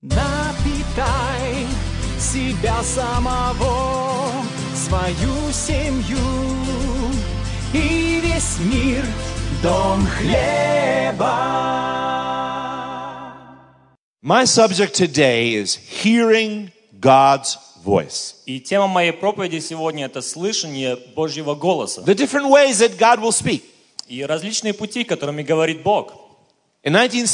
Напитай себя самого, свою семью и весь мир, дом хлеба. My subject today is hearing God's voice. И тема моей проповеди сегодня – это слышание Божьего голоса. The different ways that God will speak. И различные пути, которыми говорит Бог. In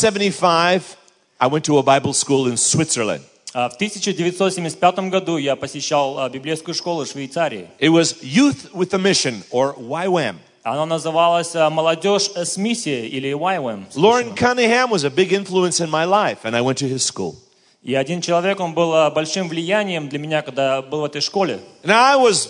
1975, I went to a Bible school in Switzerland. В 1975 году я посещал библейскую школу в Швейцарии. It was Youth with a Mission, or YWAM. Она называлась «Молодежь с миссией» или YWAM. Lauren Cunningham was a big influence in my life, and I went to his school. И один человек, он был большим влиянием для меня, когда я был в этой школе. And I was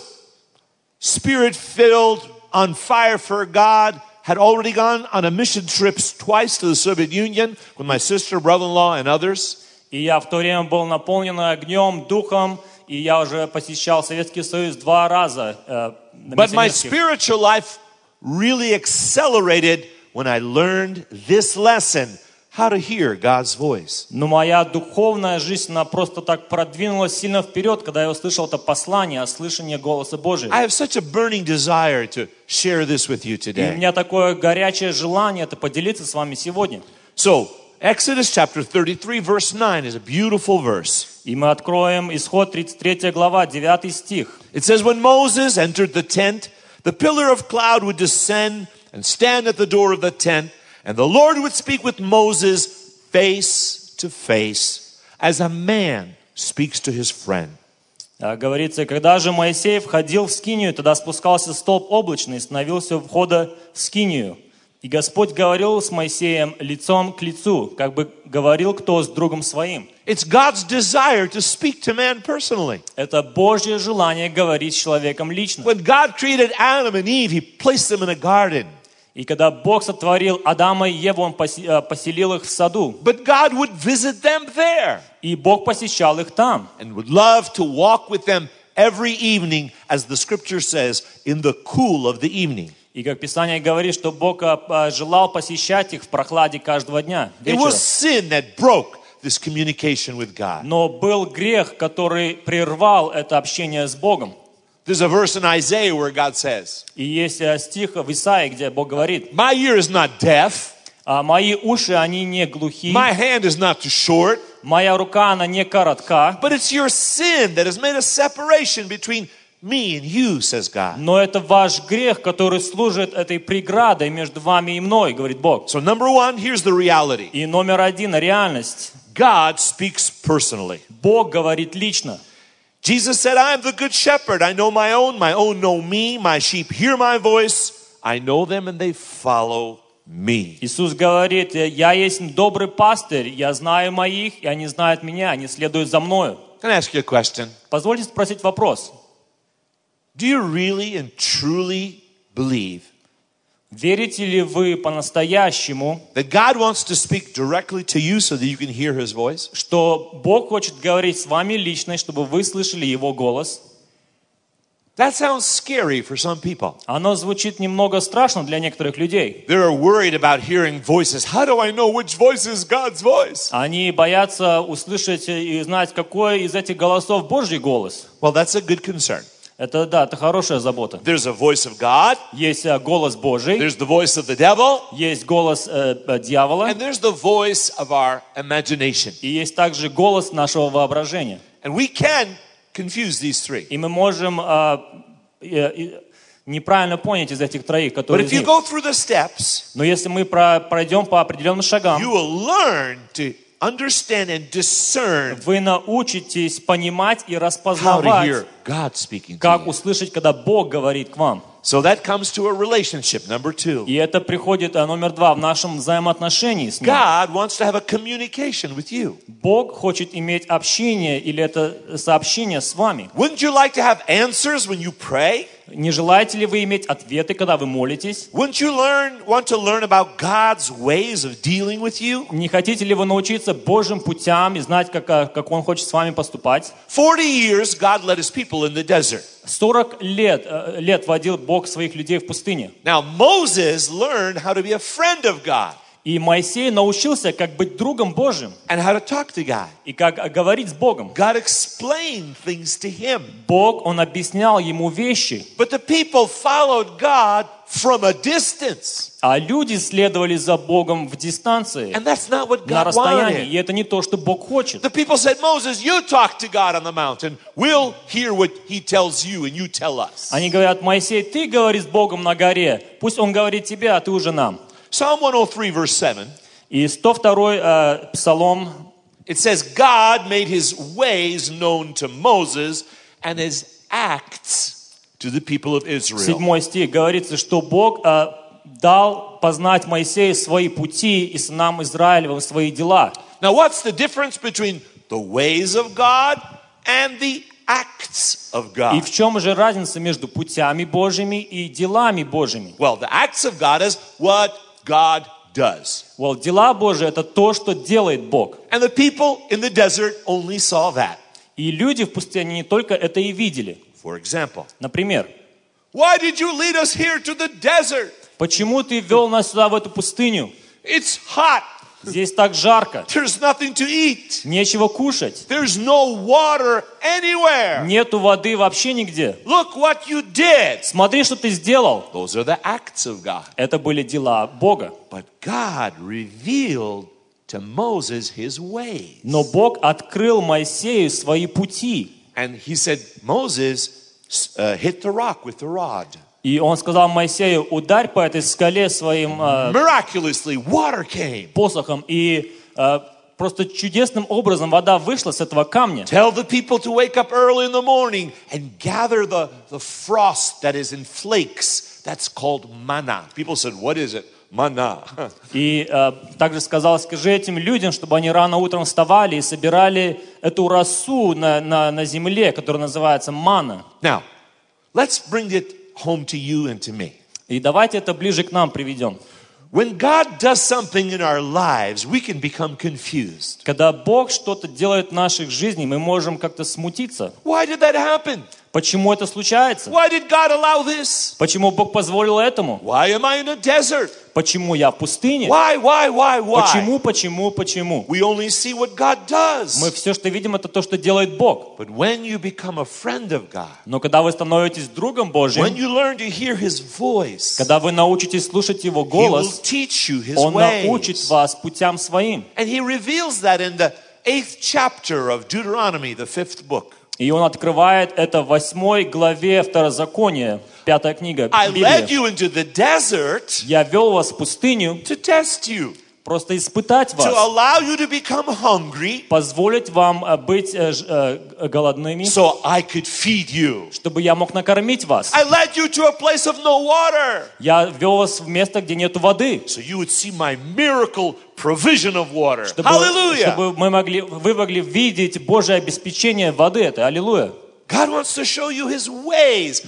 spirit-filled, on fire for God, had already gone on a mission trips twice to the Soviet Union with my sister, brother-in-law, and others. И я в то время был наполнен огнем, духом, и я уже посещал Советский Союз 2 раза. But my spiritual life really accelerated when I learned this lesson, how to hear God's voice. Но моя духовная жизнь, она просто так продвинулась сильно вперед, когда я услышал это послание о слышании голоса Божьего. I have such a burning desire to share this with you И у today. меня такое горячее желание это поделиться с вами сегодня. So, Exodus chapter 33, verse 9 is a beautiful verse. И мы откроем Исход 33 глава, 9 стих. It says, when Moses entered the tent, the pillar of cloud would descend and stand at the door of the tent, and the Lord would speak with Moses face to face, as a man speaks to his friend. Говорится, когда же Моисей входил в скинию, тогда спускался столб облачный и становился у входа в скинию. И Господь говорил с Моисеем лицом к лицу, как бы говорил кто с другом своим. It's God's desire to speak to man personally. Это Божье желание говорить с человеком лично. When God created Adam and Eve, He placed them in a garden. И когда Бог сотворил Адама и Еву, Он поселил их в саду. But God would visit them there. И Бог посещал их там. And would love to walk with them every evening, as the scripture says, in the cool of the evening. И как Писание говорит, что Бог желал посещать их в прохладе каждого дня, It was sin that broke this communication with God. Но был грех, который прервал это общение с Богом. There's a verse in Isaiah where God says, И есть стих в Исаии, где Бог говорит: my ear is not deaf, мои уши, они не глухи, my hand is not too short, моя рука, она не коротка, but it's your sin that has made a separation between me and you, says God. но это ваш грех, который служит этой преградой между вами и мной, говорит Бог. So number one, here's the reality. И номер один, реальность. God speaks personally. Бог говорит лично. Jesus said, I am the good shepherd. I know my own know me. My sheep hear my voice. I know them and they follow me. Иисус говорит: я есть добрый пастырь, я знаю моих, и они знают меня, они следуют за мною. Can I ask you a question? Позвольте спросить вопрос. Do you really and truly believe Верите ли вы по-настоящему, that God wants to speak directly to you so that you can hear His voice? что Бог хочет говорить с вами лично, чтобы вы слышали Его голос? That sounds scary for some people. Оно звучит немного страшно для некоторых людей. They're worried about hearing voices. How do I know which voice is God's voice? Они боятся услышать и знать, какой из этих голосов Божий голос. Well, that's a good concern. Это, да, это хорошая забота. There's a voice of God. Есть голос Божий, There's the voice of the devil. есть голос дьявола, And there's the voice of our imagination. и есть также голос нашего воображения. And we can confuse these three. И мы можем неправильно понять из этих троих, But которые if из you них. go through the steps, Но если мы пройдем по определенным шагам, you will learn to understand and discern вы научитесь понимать и how to распознавать, hear God speaking to как you. услышать, когда Бог говорит к вам. So that comes to a relationship, number two. И это приходит, номер 2, в нашем взаимоотношении с Ним. God wants to have a communication with you. Бог хочет иметь общение или это сообщение с вами. Wouldn't you like to have answers when you pray? Не желаете ли вы иметь ответы, когда вы молитесь? Wouldn't you want to learn about God's ways of dealing with you? Не хотите ли вы научиться Божьим путям и знать, как Он хочет с вами поступать? 40 years God led His people in the desert. 40 лет водил Бог своих людей в пустыне. Now Moses learned how to be a friend of God. И Моисей научился, как быть другом Божьим and how to talk to God. и как говорить с Богом. God explained things to him. Бог, Он объяснял ему вещи, But the people followed God from a distance. а люди следовали за Богом в дистанции, And that's not what на God расстоянии. И wanted. это не то, что Бог хочет. The people said, Moses, you talk to God on the mountain. We'll hear what he tells you and you tell us. Они говорят: Моисей, ты говори с Богом на горе, пусть Он говорит тебе, а ты уже нам. Psalm 103 verse 7. И 102 Псалом, It says, God made his ways known to Moses and his acts to the people of Israel. 7 стих, говорится, что Бог дал познать Моисею свои пути и сынам Израилевым свои дела. Now, what's the difference between the ways of God and the acts of И God? в чем же разница между путями Божьими и делами Божьими? Well, the acts of God is what God does. Вот дела Божьи — это то, что делает Бог. And the people in the desert only saw that. И люди в пустыне не только это и видели. For example, Например, why did you lead us here to the desert? почему ты ввел нас сюда, в эту пустыню? It's hot. Здесь так жарко, There's nothing to eat. нечего кушать, There's no water anywhere. нету воды вообще нигде. Look what you did. Смотри, что ты сделал. Those are the acts of God. Это были дела Бога. But God revealed to Moses his ways. Но Бог открыл Моисею свои пути. And he said, Moses, hit the rock with the rod. И он сказал Моисею: ударь по этой скале своим Miraculously, water came. посохом. И просто чудесным образом вода вышла с этого камня. Tell the people to wake up early in the morning and gather the frost that is in flakes. That's called manna. People said, what is it? Manna. И также сказал: скажи этим людям, чтобы они рано утром вставали и собирали эту росу на земле, которая называется манна. Now, let's bring it home to you and to me. И давайте это ближе к нам приведем. When God does something in our lives, we can become confused. Когда Бог что-то делает в наших жизнях, мы можем как-то смутиться. Why did that happen? Почему это случается? Why did God allow this? Почему Бог позволил этому? Why am I in a desert? Почему я в пустыне? Why? Почему? We only see what God does. Мы все, что видим, это то, что делает Бог. But when you become a friend of God, Но когда вы становитесь другом when Божьим, you learn to hear His voice, когда вы научитесь слушать Его He will голос, teach you His Он ways. научит вас путям своим. And He reveals that in the 8th chapter of Deuteronomy, the 5th book. И Он открывает это в 8 главе Второзакония, 5 книга I led Библии. you into the desert Я вел вас в пустыню, to test you, просто испытать to вас, allow you to become hungry позволить вам быть голодными, so I could feed you. чтобы я мог накормить вас. I led you to a place of no water Я вел вас в место, где нет воды, so you would see my miracle provision of water. чтобы Hallelujah. вы могли видеть Божье обеспечение воды. Это аллилуйя. God wants to show you His ways,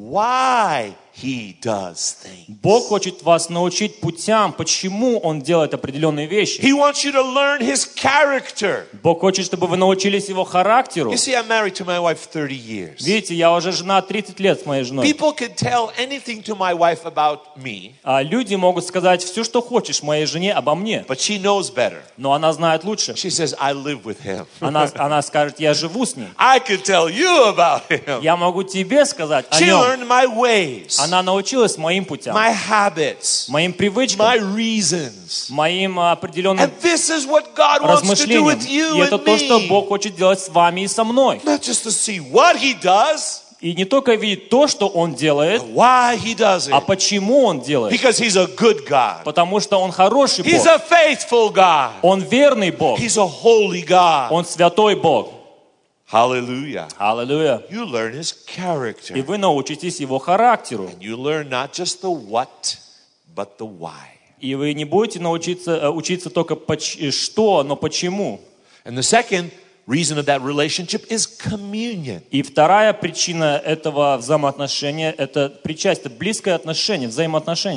why He does things. Бог хочет вас научить путям, почему Он делает определенные вещи. He wants you to learn His character. Бог хочет, чтобы вы научились Его характеру. You see, I'm married to my wife 30 years. Видите, я уже жена 30 лет с моей женой. People can tell anything to my wife about me, А люди могут сказать все, что хочешь моей жене обо мне. but she knows better. Но она знает лучше. She says, I live with him. Она скажет: я живу с ним. I can tell you about him. Я могу тебе сказать о She нем. learned my ways, Она научилась моим путям, my habits, моим привычкам, my reasons. моим определенным And this is what God wants to do размышлениям. with you И это and то, что me. Бог хочет делать с вами и со мной. Not just to see what He does, И не только видеть то, что Он делает, why He does а it. почему Он делает. Because He's a good God. Потому что Он хороший He's Бог. a faithful God. Он верный Бог. He's a holy God. Он святой Бог. Hallelujah. Аллилуйя. You learn His И character. вы научитесь Его характеру. You learn not just the what, but the why. И вы не будете учиться только что, но почему. And the second reason of that relationship is communion. И вторая причина этого взаимоотношения — это причастие, близкое отношение, взаимоотношения.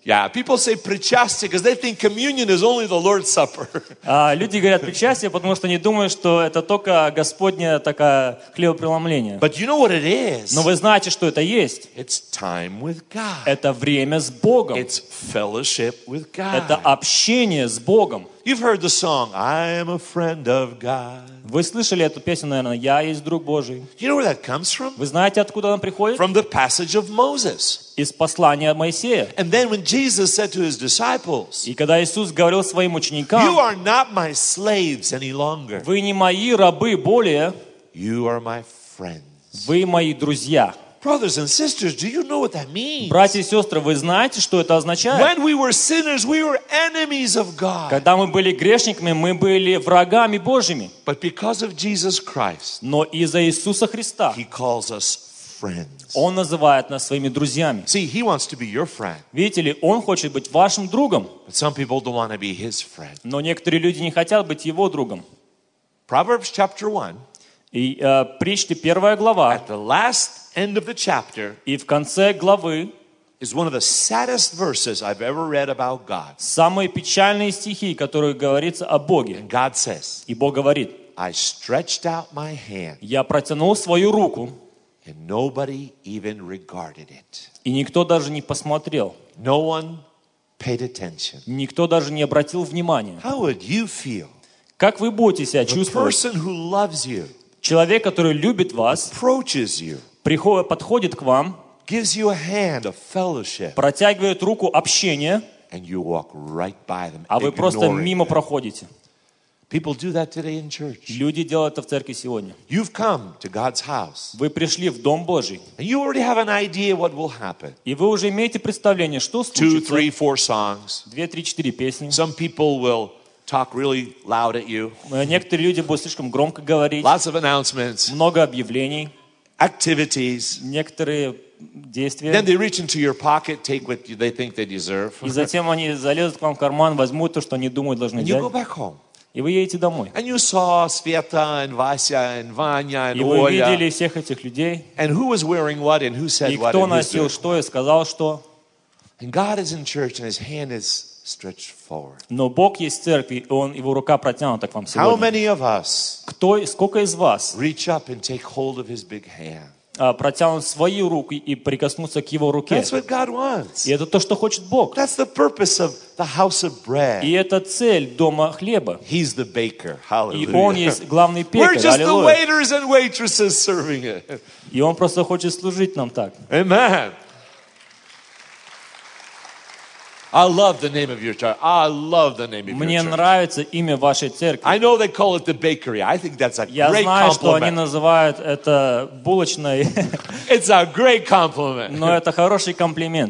Yeah, people say причастие because they think communion is only the Lord's Supper. Люди говорят причастие, потому что они думают, что это только Господня такая хлебопреломление. But you know what it is? Но вы знаете, что это есть. It's time with God. Это время с Богом. It's fellowship with God. Это общение с Богом. You've heard the song, I am a friend of God. Вы слышали эту песню, наверное, «Я есть друг Божий». You know where that comes from? Вы знаете, откуда она приходит? From the passage of Moses. Из послания Моисея. And then when Jesus said to his disciples, И когда Иисус говорил своим you ученикам, are not my slaves any longer. вы не мои рабы более, You are my friends. вы мои друзья. Brothers and sisters, do you know what that means? Братья и сестры, вы знаете, что это означает? When we were sinners, we were enemies of God. Когда мы были грешниками, мы были врагами Божьими. But because of Jesus Christ, Но из-за Иисуса Христа He calls us friends. Он называет нас своими друзьями. See, He wants to be your friend, Видите ли, Он хочет быть вашим другом. but some people don't want to be His friend. Но некоторые люди не хотят быть Его другом. Proverbs chapter 1, И Притчи 1 глава, at the last end of the chapter, и в конце главы is one of the saddest verses I've ever read about God. самые печальные стихи, которые говорится о Боге. And God says, И Бог говорит: I stretched out my hand, «Я протянул свою руку, and nobody even regarded it. и никто даже не посмотрел, No one paid attention. никто даже не обратил внимания». How would you feel? Как вы будете себя The чувствовать? person who loves you, Человек, который любит вас, approaches you, подходит к вам, gives you a hand of fellowship, протягивает руку общения, and you walk right by them, а вы просто ignoring мимо them. проходите. People do that today in church. Люди делают это в церкви сегодня. You've come to God's house, Вы пришли в Дом Божий, and you already have an idea what will happen. и вы уже имеете представление, что 2, случится. 3, 4 songs. 2, 3, 4 песни. Some people will talk really loud at you. Некоторые люди будут слишком громко говорить, Lots of announcements, много объявлений, activities. некоторые действия. Then they reach into your pocket, take what they think they deserve, И затем они залезут к вам в карман, возьмут то, что они думают должны and you go взять, back home. и вы едете домой. And you saw Sveta and Vasya and Vanya and И вы видели Oля, всех этих людей, and who was wearing what and who said и what кто and who's носил doing. что и сказал что. And God is in church and His hand is stretched forward. Но Бог есть в церкви, и Его рука протянута к вам How сегодня. many of us Сколько из вас reach up and take hold of His big hand? протянут свою руку и прикоснутся к Его руке? That's what God wants. И это то, что хочет Бог. That's the purpose of the house of И bread. это цель дома хлеба. He's the baker. И Он Hallelujah. есть главный We're пекарь. just the Аллилуйя. waiters and waitresses serving it. И Он просто хочет служить нам так. Amen. I love the name of your church. I love the name of Мне your church. нравится имя вашей церкви. I know they call it the bakery. I think that's a Я great знаю, что они compliment. называют это булочной, It's a great compliment. но это хороший комплимент.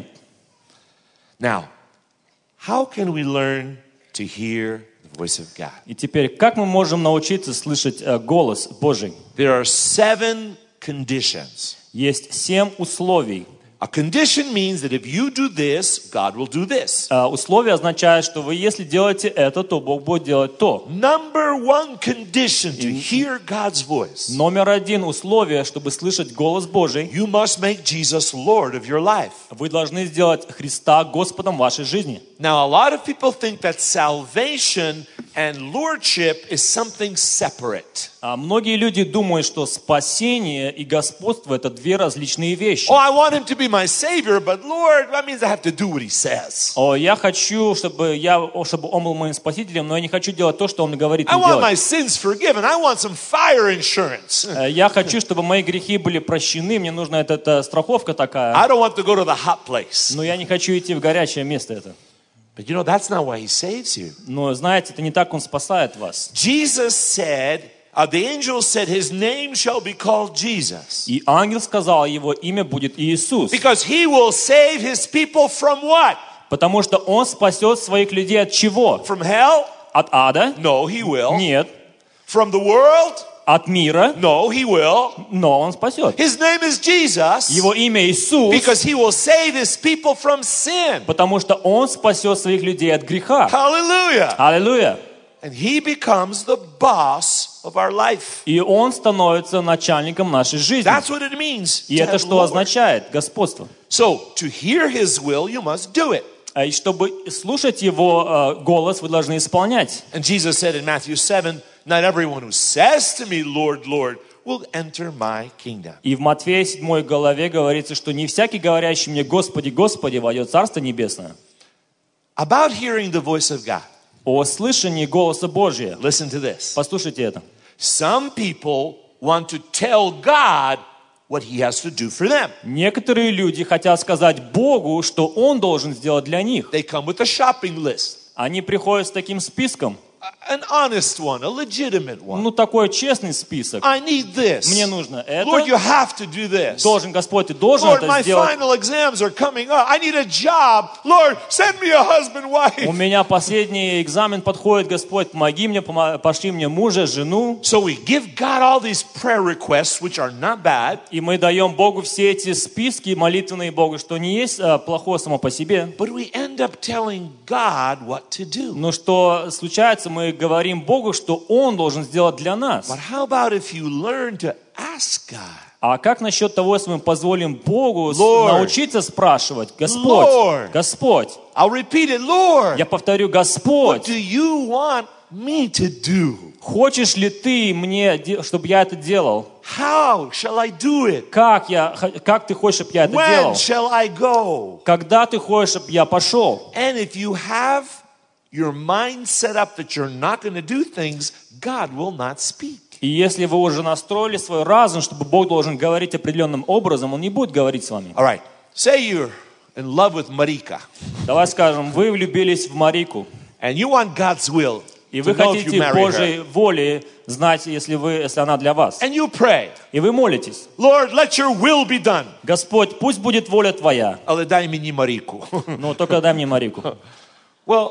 Now, how can we learn to hear the voice of God? И теперь, как мы можем научиться слышать голос Божий? There are 7 conditions. Есть 7 условий. A condition means that if you do this, God will do this. Условия означают, что вы, если делаете это, то Бог будет делать то. Number 1 condition to hear God's voice. Номер 1 условие, чтобы слышать голос Божий, You must make Jesus Lord of your life. вы должны сделать Христа Господом вашей жизни. Now, a lot of people think that salvation and lordship is something separate. Многие люди думают, что спасение и господство – это две различные вещи. Oh, I want him to be my savior, but Lord, that means I have to do what he says. Я хочу, чтобы он был моим спасителем, но я не хочу делать то, что он мне говорит I мне want my делать. sins forgiven. I want some fire insurance. Я хочу, чтобы мои грехи были прощены, мне нужна эта страховка такая, I don't want to go to the hot place. но я не хочу идти в горячее место это. But you know, that's not why he saves you. Но знаете, это не так он спасает вас. Jesus said, the angel said, his name shall be called Jesus. И ангел сказал, его имя будет Иисус, Because he will save his people from what? потому что он спасет своих людей от чего? From hell? От ада? No, he will. Нет. From the world? От мира? No, he will. Но он спасет. His name is Jesus. Его имя Иисус, Because he will save his people from sin. потому что он спасет своих людей от греха. Hallelujah. Аллилуйя. And he becomes the boss of our life. И он становится начальником нашей жизни. That's what it means. И to это have что Lord. означает? Господство. So, to hear his will, you must do it. И чтобы слушать Его голос, вы должны исполнять. And Jesus said in Matthew 7, not everyone who says to me, Lord, Lord, will enter my kingdom. И в Матфея 7 главе говорится, что не всякий, говорящий мне «Господи, Господи», войдет в Царство Небесное. About hearing the voice of God. О слышании голоса Божия. Listen to this. Послушайте это. Some people want to tell God what he has to do for them. Некоторые люди хотят сказать Богу, что Он должен сделать для них. They come with a shopping list. Они приходят с таким списком. An honest one, a legitimate one. Ну, такой честный список. I need this. Мне нужно Lord, you это. have to do this. Должен, Господь, ты должен Lord, это my сделать. final exams are coming up. I need a job. Lord, send me a husband, У wife. меня последний экзамен подходит, Господь, помоги мне, пошли мне мужа, жену. So we give God all these prayer requests, which are not bad. И мы даем Богу все эти списки молитвенные Богу, что не есть плохое само по себе. But we end up telling God what to do. Но что случается, мы говорим Богу, что Он должен сделать для нас. But how about if you learn to ask God? А как насчет того, если мы позволим Богу Lord. научиться спрашивать, Господь, Lord. Господь, I'll repeat it, Lord. я повторю, What Господь, do you want me to do? хочешь ли Ты мне, чтобы я это делал? How shall I do it? Как Ты хочешь, чтобы я это When делал? shall I go? Когда Ты хочешь, чтобы я пошел? And if you have your mind set up that you're not going to do things, God will not speak. И если вы уже настроили свой разум, чтобы Бог должен говорить определенным образом, Он не будет говорить с вами. All right. Say you're in love with Marika, Давай скажем, вы влюбились в Марику, and you want God's will и to вы know if you хотите marry Божьей her. воли знать, если она для вас. And you pray, И вы молитесь. Lord, let your will be done. Господь, пусть будет воля Твоя. Але дай мені Марику. Но только дай мне Марику. Well,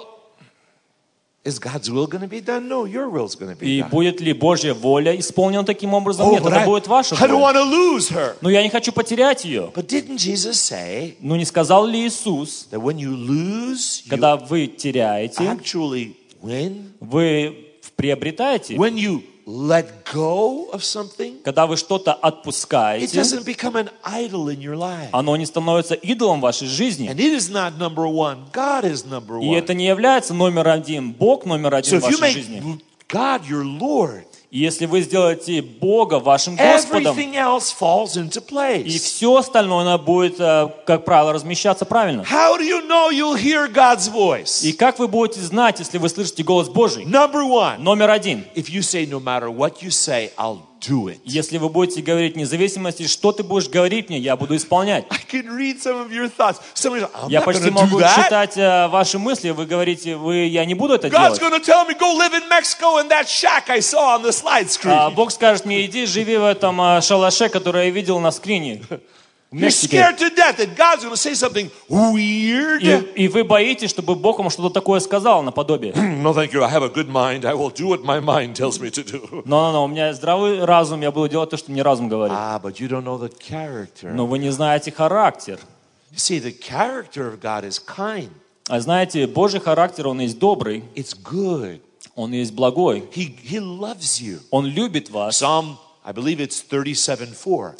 is God's will going to be done? No, your will's going to be И done. будет ли Божья воля исполнена таким образом? Oh, Нет, but это будет ваша I don't воля. want to lose her. Но я не хочу потерять ее. But didn't Jesus say Ну не сказал ли Иисус, that when you lose, you когда вы теряете, actually win? вы приобретаете? When you let go of something, Когда вы что-то it отпускаете, doesn't become an idol in your life. оно не становится идолом вашей жизни. And it is not number one. God is number И one. это не является номер один. Бог номер So один в if you вашей make жизни. God your Lord, И если вы сделаете Бога вашим Господом, everything else falls into и place. все остальное оно будет, как правило, размещаться правильно. How do you know you'll hear God's voice? И как вы будете знать, если вы слышите голос Божий? Number one, Номер один. if you say, no matter what you say, I'll do it. Если вы будете говорить, вне зависимости, что ты будешь говорить мне, я буду исполнять. I can read some of your thoughts. Somebody says, I'm Я not почти going to do могу that. читать ваши мысли. Вы говорите, я не буду это God's делать. going to tell me, go live in Mexico in that shack I saw on the slide screen. Бог скажет мне, иди живи в этом шалаше, который я видел на скрине. В You're Мексике. scared to death that God's going to say something weird. И вы боитесь, чтобы Бог вам что-то такое сказал наподобие. No, thank you. I have a good mind. I will do what my mind tells me to do. Но, у меня здравый разум, я буду делать то, что мне разум говорит. But you don't know the character. Но вы не знаете характер. You see, the character of God is kind. А знаете, Божий характер, он есть добрый, It's good. он есть благой. He loves you. Он любит вас. Psalm, I believe it's 37:4.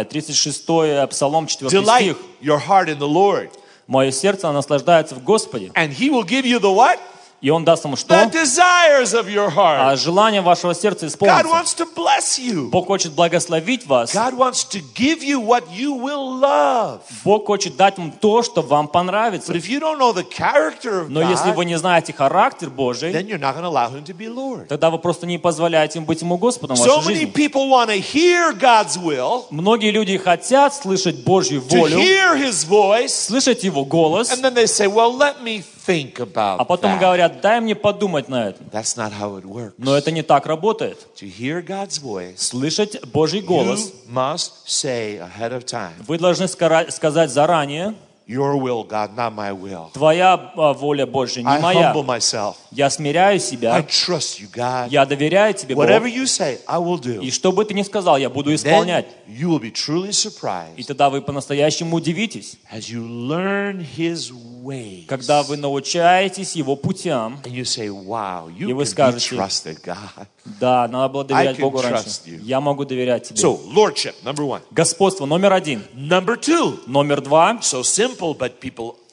36-й Псалом, 4 Delight стих. your heart in the Lord, Мое сердце наслаждается в Господе. and He will give you the what? И Он даст вам The что? desires of your heart. Желание вашего сердца God исполнится. wants to bless you. Бог хочет благословить вас. God wants to give you what you will love. Бог хочет дать вам то, что вам понравится. But if you don't know the character of Но если вы God, не знаете характер Божий, then you're not going to allow Him to be Lord. тогда вы просто не позволяете им быть ему Господом в So вашей many жизни. people want to hear God's will, Многие люди хотят слышать Божью to волю, hear His voice, слышать Его голос, and then they say, well, let me think about а потом that. говорят, дай мне подумать на это. That's not how it works. Но это не так работает. To hear God's voice, Слышать Божий голос you must say ahead of time, вы должны сказать заранее, your will, God, not my will. твоя воля Божья, не I моя. humble myself. Я смиряю I себя, trust you, God. я доверяю тебе, Бог. Whatever you say, I will do. И что бы ты ни сказал, я буду Then исполнять. you will be truly И surprised тогда вы по-настоящему удивитесь, as you learn His ways. когда вы научаетесь Его путям. And you say, wow, И you вы can be скажете, trusted, God. да, надо было доверять can Богу раньше. trust you. Я могу доверять тебе. So, lordship, number one. Господство номер один. Number two, Номер два. so simple, but people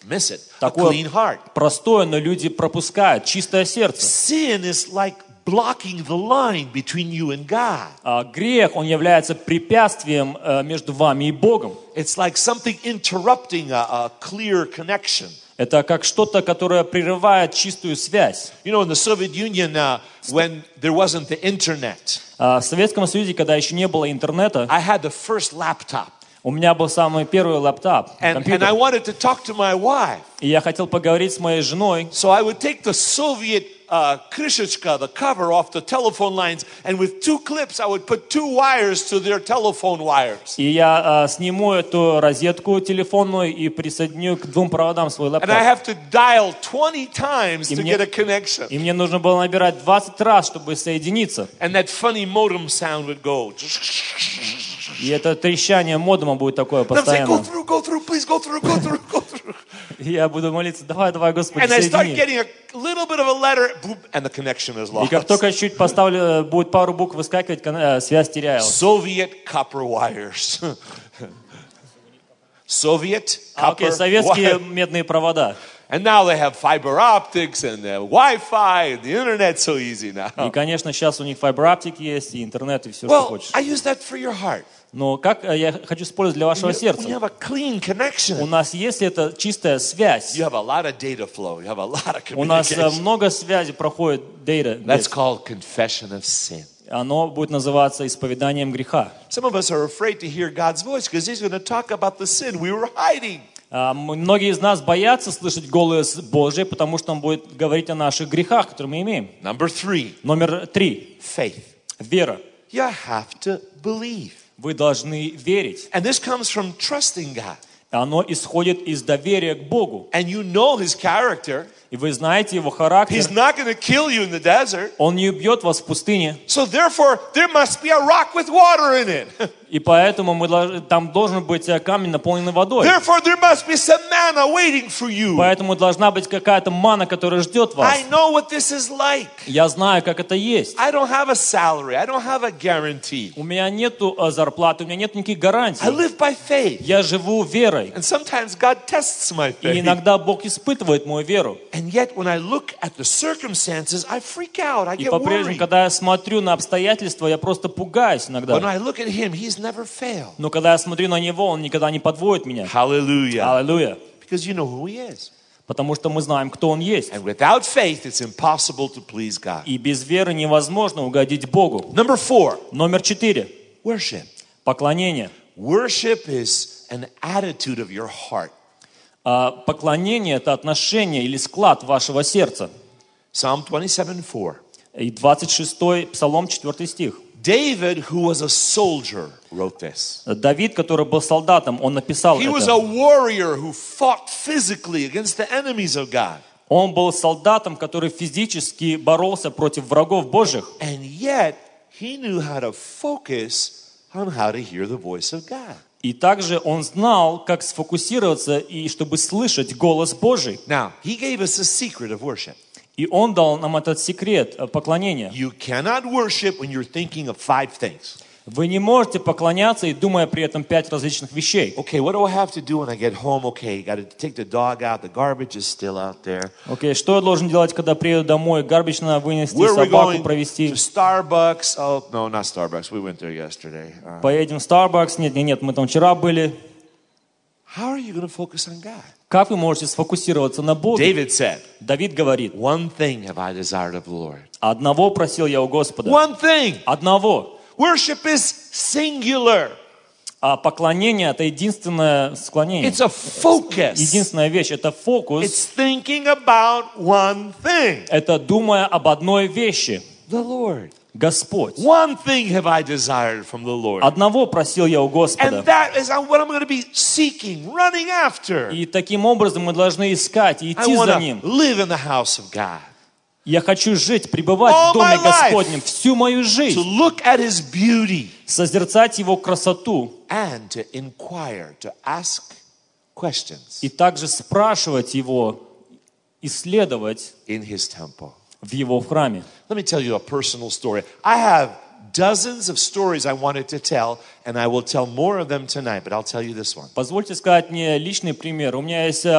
miss it. A Такое clean heart. простое, но люди пропускают. Чистое сердце. Sin is like blocking the line between you and God. Грех, он является препятствием между вами и Богом. It's like something interrupting a clear connection. Это как что-то, которое прерывает чистую связь. You know, in the Soviet Union, when there wasn't the internet, В Советском Союзе, когда еще не было интернета, I had the first laptop. у меня был самый первый лаптоп, And I компьютер. wanted to talk to my wife. И я хотел поговорить с моей женой. So I would take the Soviet krishechka, the cover off the telephone lines, and with 2 clips, I would put 2 wires to their telephone wires. И я сниму эту розетку телефонную и присоединю к 2 проводам свой And I лаптоп. have to dial 20 times to мне- get a connection. И мне нужно было набирать 20 раз, чтобы соединиться. And that funny modem sound would go. И это трещание модема будет такое And I'm saying, постоянно. go through, please go through, go through, go through. И я буду молиться, давай, Господи, And I start соедини. getting a little bit of a letter, boop, and the connection is И как lost. только чуть поставлю, будет пару букв выскакивать, связь теряется. Soviet copper wires. Soviet Окей, copper советские wires. медные провода. And now they have fiber optics and Wi-Fi and the internet's so easy now. И, конечно, сейчас у них файбер-оптик есть, и интернет, и все, что Well, хочешь. I use that for your heart. Но как я хочу использовать для вашего When you сердца? have a clean У connection, нас есть эта чистая связь. you have a lot of data flow. You have a lot of У нас communication. много связи проходит data. That's called confession of sin. Оно будет называться исповеданием греха. Some of us are afraid to hear God's voice because He's going to talk about the sin we were hiding. Многие из нас боятся слышать голос Божий, потому что Он будет говорить о наших грехах, которые мы имеем. Number 3, Номер 3. faith. Вера. You have to believe. Вы должны верить. And this comes from trusting God. Оно исходит из доверия к Богу. And you know His character. И вы знаете Его характер. He's not going to kill you in the desert. Он не убьет вас в пустыне. So therefore, there must be a rock with water in it. И поэтому там должен быть камень, наполненный водой. Therefore, there must be some manna waiting for you. Поэтому должна быть какая-то мана, которая ждет вас. I know what this is like. Я знаю, как это есть. I don't have a salary. I don't have a guarantee. У меня нету зарплаты, у меня нет никаких I гарантий. live by faith. Я живу верой. And sometimes God tests my И faith. иногда Бог испытывает мою веру. And yet, when I look at the circumstances, I freak out. I И get по-прежнему, worried. когда я смотрю на обстоятельства, я просто пугаюсь When иногда. I look at Him, He's never failed. Но когда я смотрю на Него, Он никогда не подводит меня. Hallelujah. Аллилуйя. Because you know who He is. Потому что мы знаем, кто Он есть. And without faith, it's impossible to please God. И без веры невозможно угодить Богу. Number 4, Номер 4. worship. Поклонение. Worship is an attitude of your heart. Поклонение – это отношение или склад вашего сердца. Psalm 27:4. И 26-й Псалом, 4 стих. David, who was a soldier, wrote this. Давид, который был солдатом, он написал He was это. a warrior who fought physically against the enemies of God. Он был солдатом, который физически боролся против врагов Божьих. And yet, he knew how to focus on how to hear the voice of God. И также он знал, как сфокусироваться и чтобы слышать голос Божий. Now, he gave us a secret of worship. И он дал нам этот секрет поклонения. You cannot worship when you're thinking of 5 things. Вы не можете поклоняться и думая при этом 5 различных вещей. Okay, what do I have to do when I get home? Okay, got to take the dog out. The garbage is still out there. Окей, что я должен делать, когда приеду домой? Гарбич надо вынести, Where are we собаку going? провести. To Starbucks? Oh, no, not Starbucks. We went there yesterday. Поедем в Starbucks. Нет, мы там вчера были. How are you going to focus on God? Как вы можете сфокусироваться на Боге? David said, Давид говорит, one thing have I desired of the Lord. одного просил я у Господа. One thing. Одного. Worship is singular. А поклонение – это единственное склонение. It's a focus. Единственная вещь – это фокус. It's thinking about one thing. Это думая об одной вещи. The Lord. Господь. One thing have I desired from the Lord. Одного просил я у Господа. And that is what I'm going to be seeking, running after. И таким образом мы должны искать и I идти want за to Ним. live in the house of God. Я хочу жить, пребывать All в Доме my life. Господнем всю мою To жизнь, look at His beauty созерцать Его красоту and to inquire, to ask questions и также спрашивать Его, исследовать in His temple. в Его храме. Let me tell you a personal story. I have dozens of stories I wanted to tell, and I will tell more of them tonight, but I'll tell you this one. Позвольте сказать мне личный пример. У меня есть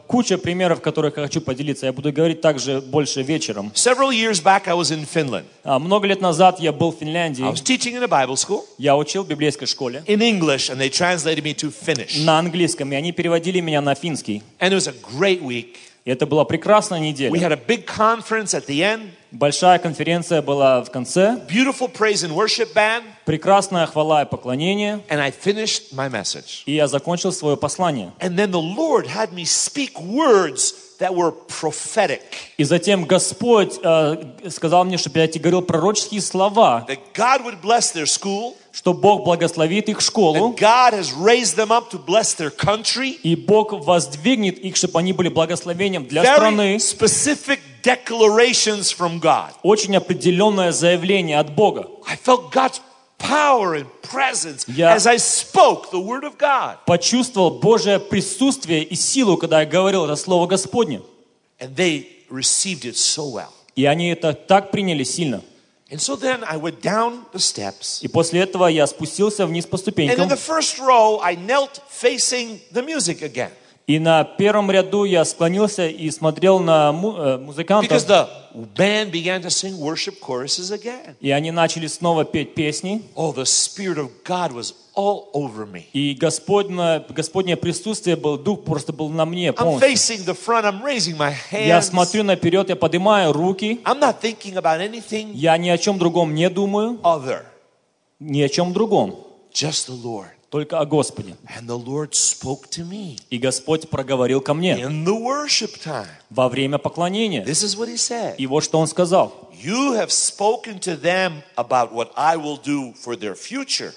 куча примеров, которых я хочу поделиться. Я буду говорить также больше вечером. Several years back, I was in Finland. Много лет назад я был в I Финляндии. was teaching in a Bible school Я учил в библейской школе in English, and they translated me to Finnish. на английском, и они переводили меня на финский. And it was a great week. И это была прекрасная We неделя. had a big conference at the end, Большая конференция была в конце. beautiful praise and worship band, Прекрасная хвала и поклонение. and I finished my message. И я закончил свое послание. And then the Lord had me speak words that were prophetic. И затем Господь сказал мне, чтобы я тебе говорил пророческие слова, That God would bless their school, что Бог благословит их школу, that God has raised them up to bless their country. и Бог воздвигнет их, чтобы они были благословением для Very страны. specific declarations from God. Очень определенное заявление от Бога. I felt God's power and presence Я- as I spoke the word of God. Почувствовал Божие присутствие и силу, когда я говорил это Слово Господне. And they received it so well. И они это так приняли сильно. And so then I went down the steps. И после этого я спустился вниз по And in ступенькам. the first row, I knelt facing the music again. И на первом ряду я склонился и смотрел на Because музыкантов. the band began to sing worship choruses again. И они начали снова петь песни. Oh, the Spirit of God was all over me. И Господнее присутствие был, Дух просто был на мне I'm полностью. facing the front, I'm raising my Я hands. смотрю наперед, я поднимаю руки. I'm not thinking about anything Я ни о чем другом не думаю, other, ни о чем другом, just the Lord. только о Господе. And the Lord spoke to me И Господь проговорил ко мне in the worship time. во время поклонения. This is what he said. И вот что Он сказал. You have spoken to them about what I will do for their future.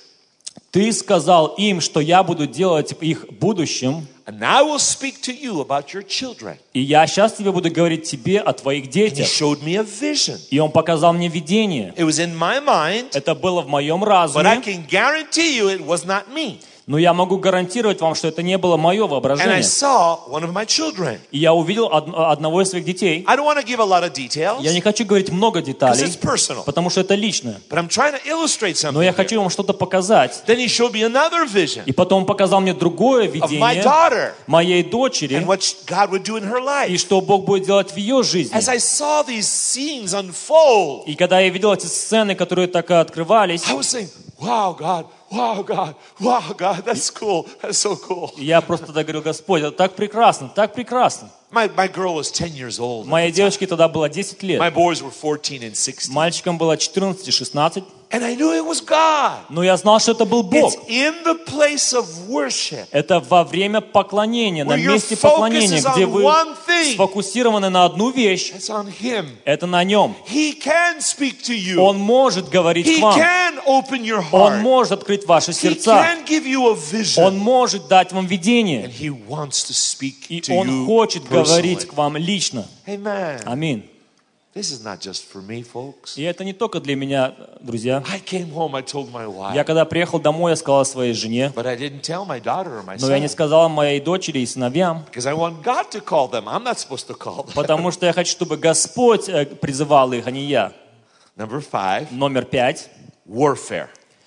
Ты сказал им, что я буду делать в их будущем, And I will speak to you about your children. и я сейчас тебе буду говорить тебе о твоих And he детях. showed me a vision. И Он показал мне видение. It was in my mind, Это было в моем but I разуме, can guarantee you it was not me. но я могу гарантировать вам, что это не было мое And I воображение. saw one of my children. И я увидел одного из своих детей. I don't want to give a lot of details Я не хочу говорить много because деталей, it's personal, потому что это личное. but I'm trying to illustrate Но something. я here. хочу вам что-то показать. Then he showed me another vision И потом он показал мне другое of my видение daughter моей дочери, and what God would do in her и life. что Бог будет делать в ее жизни. As I saw these scenes unfold, И когда я видел эти сцены, которые так и открывались, I was saying, wow, God, wow, God, wow, God, that's cool. That's so cool. я просто тогда говорю: Господь, это так прекрасно, так прекрасно. My girl was 10 years old. Моей девочке тогда было 10 My лет, boys were 14 and 16. мальчикам было 14 и 16, And I knew it was God. но я знал, что это был Бог. It's in the place of worship Это во время поклонения, на where your месте focus поклонения, is где on вы one thing. сфокусированы на одну вещь, It's on Him. это на Нем. He can speak to you. Он может говорить He к вам, can open your Он heart. может открыть ваши He сердца, can give you a vision. Он может дать вам видение, And He wants to speak и to Он you хочет говорить personally. к вам лично. Amen. Аминь. This is not just for me, folks. И это не только для меня, друзья. I came home, I told my wife, Я когда приехал домой, я сказал своей жене, but I didn't tell my daughter or my но я не son сказал моей дочери и сыновьям, because I want God to call them. I'm not supposed to call them. потому что я хочу, чтобы Господь призывал их, а не я. Number 5, Номер 5. warfare.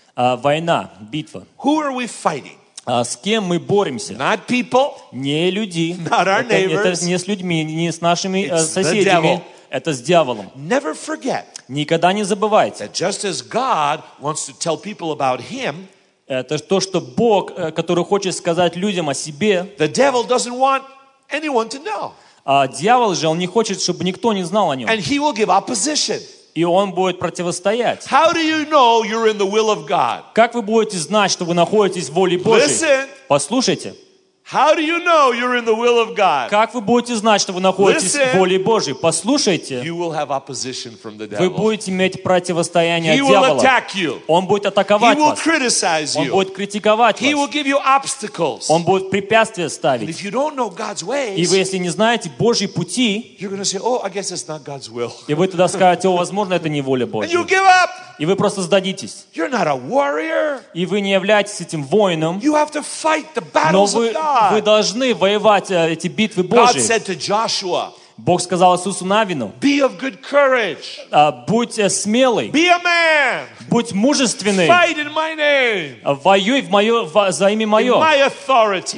Война, битва. Who are we fighting? С кем мы боремся? Not people. Не люди. Not our Это neighbors. не с людьми, не с нашими It's the соседями. devil. Это с дьяволом. Never forget Никогда не забывайте. that just as God wants to tell people about Him, Это то, что Бог, который хочет сказать людям о себе, the devil doesn't want anyone to know. а дьявол же, он не хочет, чтобы никто не знал о нем. And he will give opposition. И он будет противостоять. How do you know you're in the will of God? Как вы будете знать, что вы находитесь в воле Божьей? Listen. Послушайте. How do you know you're in the will of God? Как вы будете знать, что вы находитесь Listen. в воле Божьей? Послушайте. You will have opposition from the Вы devil. будете иметь противостояние He от will дьявола. attack you. Он будет He атаковать will вас. criticize Он you. будет критиковать He will вас. give you obstacles. Он будет препятствия And ставить. if you don't know God's И вы, ways, если не знаете Божьи пути, you're going to say, oh, I guess it's not God's will. и вы тогда скажете: о, возможно, это не воля And Божья. you give up. И вы просто сдадитесь. You're not a warrior. И вы не являетесь этим воином, You have to fight the но battles вы of God. должны воевать эти битвы God Божьи. said to Joshua, Бог сказал Иисусу Навину: be of good courage. будь смелый, Be a man. будь мужественный, Fight in my name. воюй за имя In мое, my authority.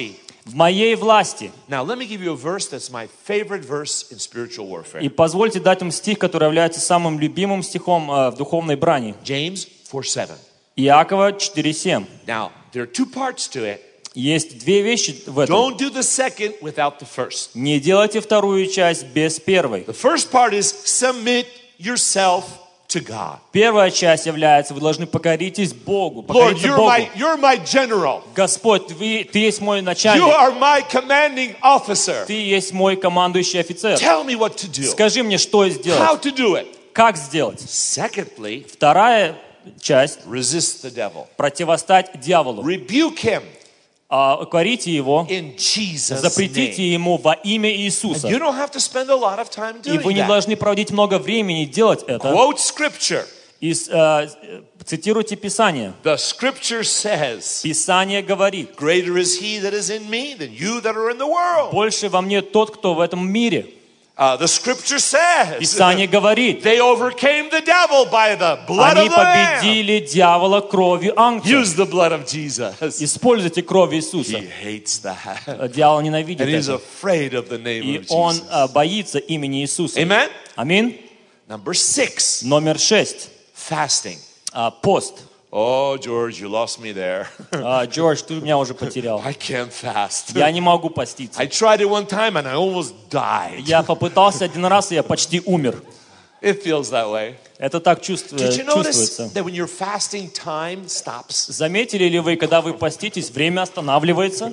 в моей власти. Now, let me give you a verse that's my favorite verse in spiritual warfare. И позвольте дать вам стих, который является самым любимым стихом в духовной брани. James 4:7. Иакова 4:7. Now, there are two parts to it. Есть две вещи в этом. Don't do the second without the first. Не делайте вторую часть без первой. The first part is submit yourself to God. Первая часть является, вы должны покоритесь Богу. Lord, Покориться Богу. you're my general. Господь, ты есть мой You начальник. are my commanding officer. Ты есть мой командующий офицер. Tell me what to do. Скажи мне, что How сделать. to do it. Как сделать? Secondly, Вторая часть. resist the devil. Противостать дьяволу. Rebuke him Укорите его. in Jesus' Запретите name. ему во имя Иисуса. You don't have to spend a lot of time И вы doing не that. должны проводить много времени делать это. Quote scripture. И цитируйте Писание. The scripture says, Писание говорит: greater is he that is in me than you that are in the world. больше во мне тот, кто в этом мире. The scripture says, Писание говорит: they overcame the devil by the blood они of the Lamb. победили дьявола кровью ангела. Use the blood of Jesus. Используйте кровь Иисуса. He hates that. Дьявол ненавидит And he's это. afraid of the name И of он Jesus. боится имени Иисуса. Amen? Аминь. Number 6, Номер 6. fasting. Пост. Oh, George, you lost me there. Джордж, ты меня уже потерял. I can't fast. Я не могу поститься. I tried it one time and I almost died. Я попытался один раз, и я почти умер. It feels that way. Это так Did you notice чувствуется. that when you're fasting, time stops? Заметили ли вы, когда вы поститесь, время останавливается?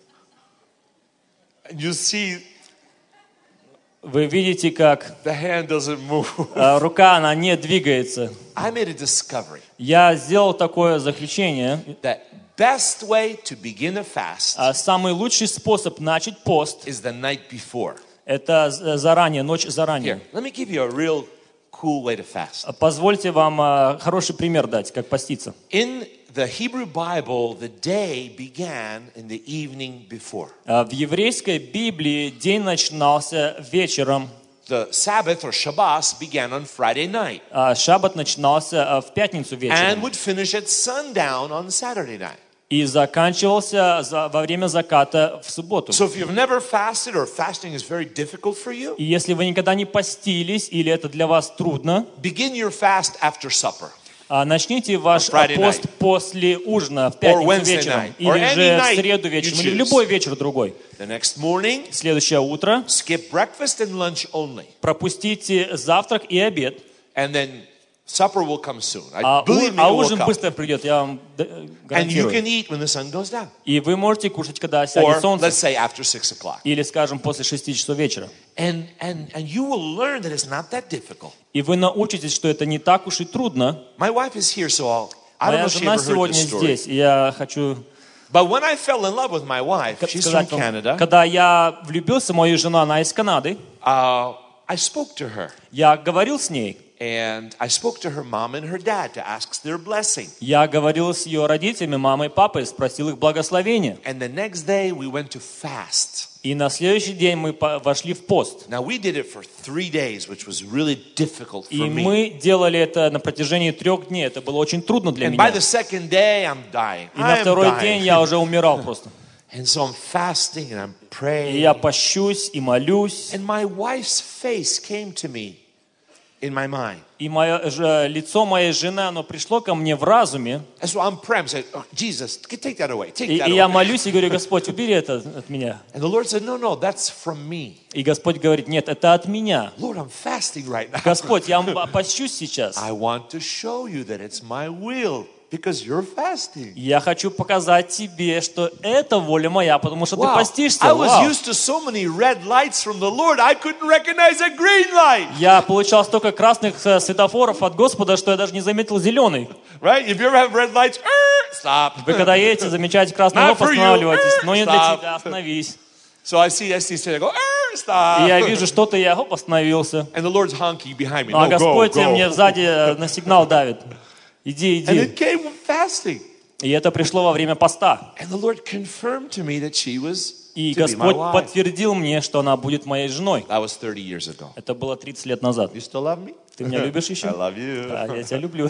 And you see Вы видите, как the hand doesn't move. рука, она не двигается. I made a discovery Я сделал такое заключение. that best way to begin a fast Самый лучший способ начать пост is the night before. – это заранее, ночь Here, заранее. let me give you a real cool way to fast. Позвольте вам хороший пример дать, как поститься. In the Hebrew Bible, the day began in the evening before. В еврейской Библии день начинался вечером, The Sabbath or Shabbos began on Friday night а шаббат начинался в пятницу and вечером would finish at sundown on Saturday night. и заканчивался во время заката в субботу. So if you've never fasted or fasting is very difficult for you, И если вы никогда не постились или это для вас трудно, begin your fast after supper. начните ваш Friday пост night. после ужина в Or пятницу Wednesday вечером night. Or или any же night в среду you вечером или в choose. любой вечер другой. The next morning, Следующее утро skip breakfast and lunch only. пропустите завтрак и обед, And then supper will come soon. Believe me, it will ужин come. быстро придет, я вам And you гарантирую. can eat when the sun goes down. И вы можете кушать, когда Or, сядет солнце, let's say, after 6 o'clock. или, скажем, после 6 часов вечера. And you will learn that it's not that difficult. И вы научитесь, что это не так уж и трудно. My wife is here, so I don't know Моя if she жена ever heard сегодня this story. здесь, и я хочу But when I fell in love with my wife, she's from сказать вам, Canada, когда я влюбился в мою жену, она из Канады, I spoke to her. я говорил с ней. And I spoke to her mom and her dad to ask their blessing. Я говорил с ее родителями, мамой и папой, спросил их благословения. And the next day we went to fast. И на следующий день мы вошли в пост. Now we did it for 3 days, which was really difficult И for me. мы делали это на протяжении 3 дней. Это было очень трудно для And by меня. the second day, I'm dying. И на I'm второй день dying. я уже умирал просто. And so I'm fasting and I'm И praying. я пощусь и молюсь. And my wife's face came to me in my mind. И лицо моей жены, оно пришло ко мне в разуме. And so I'm praying, saying, oh, Jesus, take that away, take И that я away. молюсь и говорю: Господь, убери это от меня. And the Lord said, no, that's from me. И Господь говорит: нет, это от меня. Lord, I'm fasting right now. Господь, я пощусь сейчас. I want to show you that it's my will because you're fasting. Я хочу показать тебе, что это воля моя, потому что ты Wow. постишься. I was Вау. used to so many red lights from the Lord, I couldn't recognize a green light. Я получал столько красных светофоров от Господа, что я даже не заметил зеленый. Right? If you ever have red lights, stop. Вы когда едете, замечаете красный, Not но for you. останавливайтесь. Но не для Stop. тебя, остановись. So I see say, I go, И stop. я вижу что-то, и я остановился. And the Lord's honking behind me. А No, Господь go, мне go. сзади на сигнал давит. Иди, And иди. it came with fasting. И это пришло во время поста. And the Lord confirmed to me that she was И to be my Господь wife. подтвердил мне, что она будет моей женой. That was 30 years ago. Это было 30 лет назад. You still love me? Ты меня любишь еще? I love you. Да, я тебя люблю.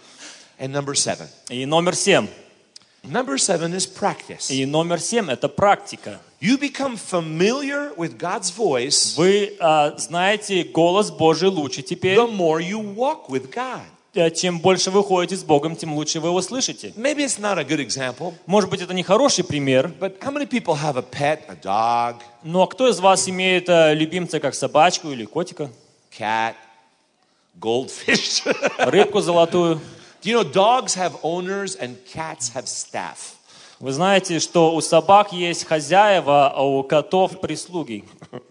And number 7. И номер 7. Number 7 is practice. И номер 7 – это практика. You you become familiar with God's voice, Вы знаете голос Божий лучше теперь. the more you walk with God. Чем больше вы ходите с Богом, тем лучше вы его слышите. Maybe it's not a good example, Может быть, это не хороший пример, but how many people have a pet, a dog, но кто из вас имеет любимца, как собачку или котика, cat, goldfish? рыбку золотую? Do you know dogs have owners and cats have staff? Вы знаете, что у собак есть хозяева, а у котов прислуги.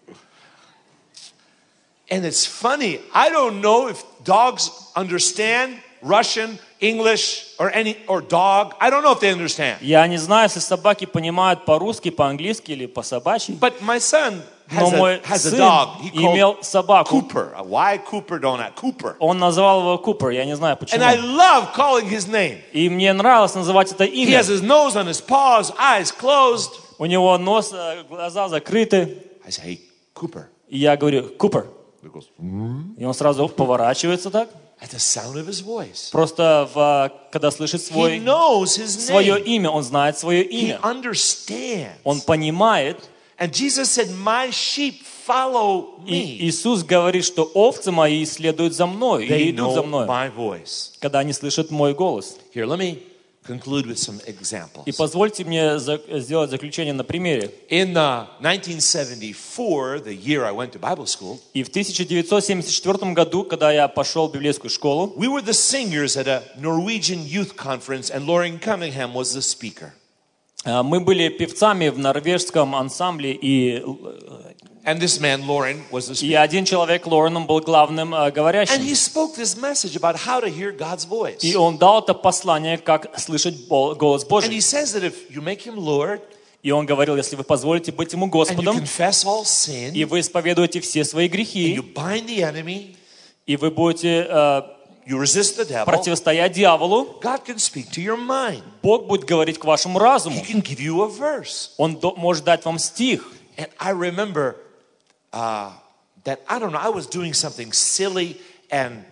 And it's funny, I don't know if dogs understand Russian, English, or dog. I don't know if they understand. Я не знаю, если собаки понимают по-русски, по-английски или по-собачьи. But my son Но мой has a сын dog. He имел called собаку. Cooper. Why Cooper don't have Cooper? Он назвал его Купер, я не знаю почему. And I love calling his name. И мне нравилось называть это He имя. has his nose on his paws, eyes closed. У него нос, глаза закрыты. I say, hey, Cooper. И я говорю, Купер. He goes, И он сразу поворачивается так. at the sound of his voice. Просто когда слышит He knows his свое name. имя, он знает свое He имя. understands. Он понимает. And Jesus said, my sheep follow И me. Иисус говорит, что овцы мои следуют за мной, They и идут за know мной, my voice. когда они слышат мой голос. Here, let me conclude with some И examples. позвольте мне сделать заключение на примере. In 1974, the year I went to Bible school, И в 1974 году, когда я пошел в библейскую школу, we were the singers at a Norwegian youth conference, and Lauren Cunningham was the speaker. мы были певцами в норвежском ансамбле, и And this man, Lauren, was the speaker. один человек, Лореном, был главным And говорящим. he spoke this message about how to hear God's voice. И он дал это послание, как слышать голос And Божий. he says that if you make him Lord, И он говорил, если вы позволите быть ему and you Господом, confess all sin, и вы исповедуете все свои and грехи, you bind the enemy, и вы будете you resist the devil, противостоять дьяволу, God can speak to your mind. Бог будет говорить к вашему разуму. He can give you a verse. Он может дать вам стих. And I remember that, I don't know, I was doing something silly, and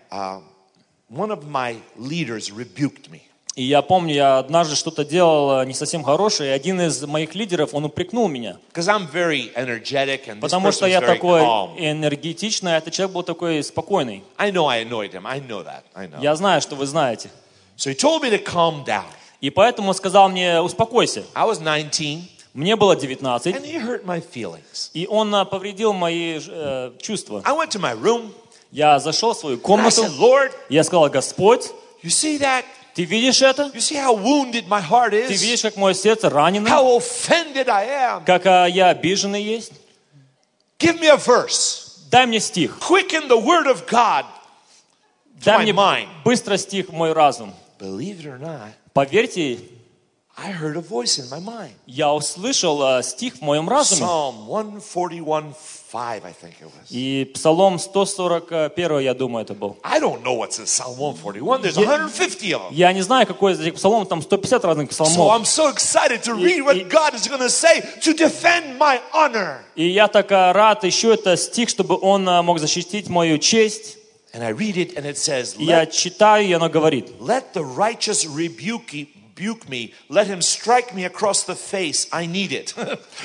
one of my leaders rebuked me. И я помню, я однажды что-то делал не совсем хорошее, и один из моих лидеров, он упрекнул меня. Because I'm very energetic, and this Потому person что was я very такой calm. энергетичный, а этот человек был такой спокойный. I know I annoyed him. I know that. I know. Я знаю, что вы знаете. So he told me to calm down. И поэтому он сказал мне, успокойся. I was 19, Мне было 19, and he hurt my feelings. и он повредил мои чувства. I went to my room, Я зашел в свою and I комнату, said, Lord, я сказал, Господь, you see that? ты видишь это? You see how wounded my heart Ты is? видишь, как мое сердце ранено? How offended I am? Как я обиженный есть? Give me a verse. Дай мне стих. Quicken the word of God to Дай my мне mind. быстро стих в мой разум. Believe it or not, Поверьте, I heard a voice in my mind. я услышал стих в моем разуме. Psalm 141:5, I think it was. И Псалом 141, я думаю, это был. I don't know what's in Psalm 141. There's 150 of them. Я не знаю, какой из этих псалмов, там 150 разных So псалмов. I'm so excited to read what God is going to say to defend my honor. И я так рад еще это стих, чтобы он мог защитить мою честь. And I read it, and it says, И я читаю, и оно говорит. Let the righteous rebuke me. Let him strike me across the face. I need it.